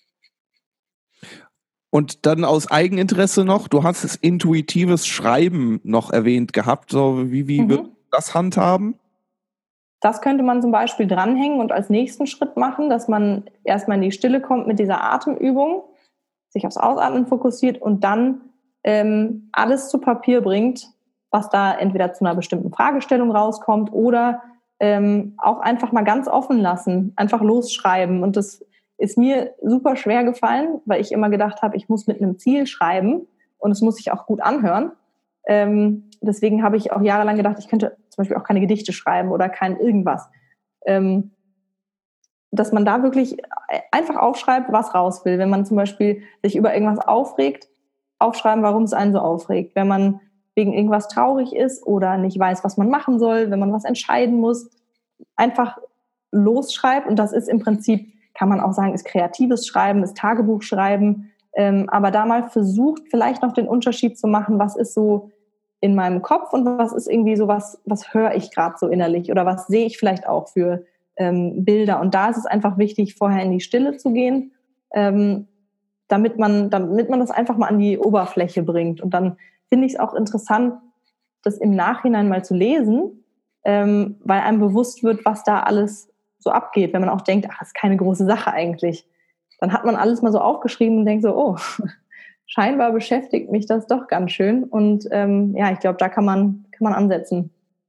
Und dann aus Eigeninteresse noch, du hast das intuitives Schreiben noch erwähnt gehabt. So, wie wie mhm. wird das handhaben? Das könnte man zum Beispiel dranhängen und als nächsten Schritt machen, dass man erstmal in die Stille kommt mit dieser Atemübung, sich aufs Ausatmen fokussiert und dann ähm, alles zu Papier bringt, was da entweder zu einer bestimmten Fragestellung rauskommt oder ähm, auch einfach mal ganz offen lassen, einfach losschreiben. Und das ist mir super schwer gefallen, weil ich immer gedacht habe, ich muss mit einem Ziel schreiben und es muss sich auch gut anhören. Ähm, deswegen habe ich auch jahrelang gedacht, ich könnte zum Beispiel auch keine Gedichte schreiben oder kein irgendwas. Ähm, dass man da wirklich einfach aufschreibt, was raus will. Wenn man zum Beispiel sich über irgendwas aufregt, aufschreiben, warum es einen so aufregt. Wenn man wegen irgendwas traurig ist oder nicht weiß, was man machen soll, wenn man was entscheiden muss, einfach losschreibt. Und das ist im Prinzip, kann man auch sagen, ist kreatives Schreiben, ist Tagebuchschreiben. Ähm, aber da mal versucht, vielleicht noch den Unterschied zu machen, was ist so in meinem Kopf und was ist irgendwie so, was, was höre ich gerade so innerlich oder was sehe ich vielleicht auch für ähm, Bilder. Und da ist es einfach wichtig, vorher in die Stille zu gehen, ähm, damit man, damit man das einfach mal an die Oberfläche bringt. Und dann finde ich es auch interessant, das im Nachhinein mal zu lesen, ähm, weil einem bewusst wird, was da alles so abgeht. Wenn man auch denkt, ach, das ist keine große Sache eigentlich. Dann hat man alles mal so aufgeschrieben und denkt so, oh, scheinbar beschäftigt mich das doch ganz schön. Und ähm, ja, ich glaube, da kann man, kann man ansetzen.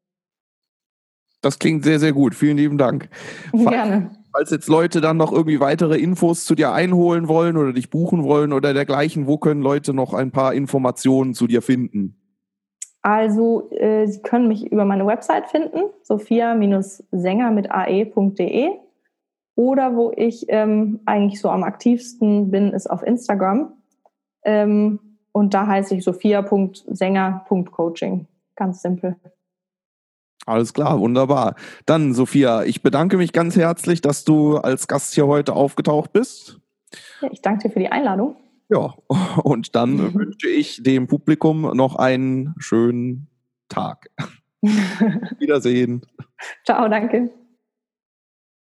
Das klingt sehr, sehr gut. Vielen lieben Dank. Gerne. Falls jetzt Leute dann noch irgendwie weitere Infos zu dir einholen wollen oder dich buchen wollen oder dergleichen, wo können Leute noch ein paar Informationen zu dir finden? Also, äh, Sie können mich über meine Website finden, sophia Sänger mit ae punkt de. Oder wo ich ähm, eigentlich so am aktivsten bin, ist auf Instagram. Ähm, und da heiße ich sophia punkt sänger punkt coaching. Ganz simpel. Alles klar, wunderbar. Dann, Sophia, ich bedanke mich ganz herzlich, dass du als Gast hier heute aufgetaucht bist. Ja, ich danke dir für die Einladung. Ja, und dann wünsche ich dem Publikum noch einen schönen Tag. Wiedersehen. Ciao, danke.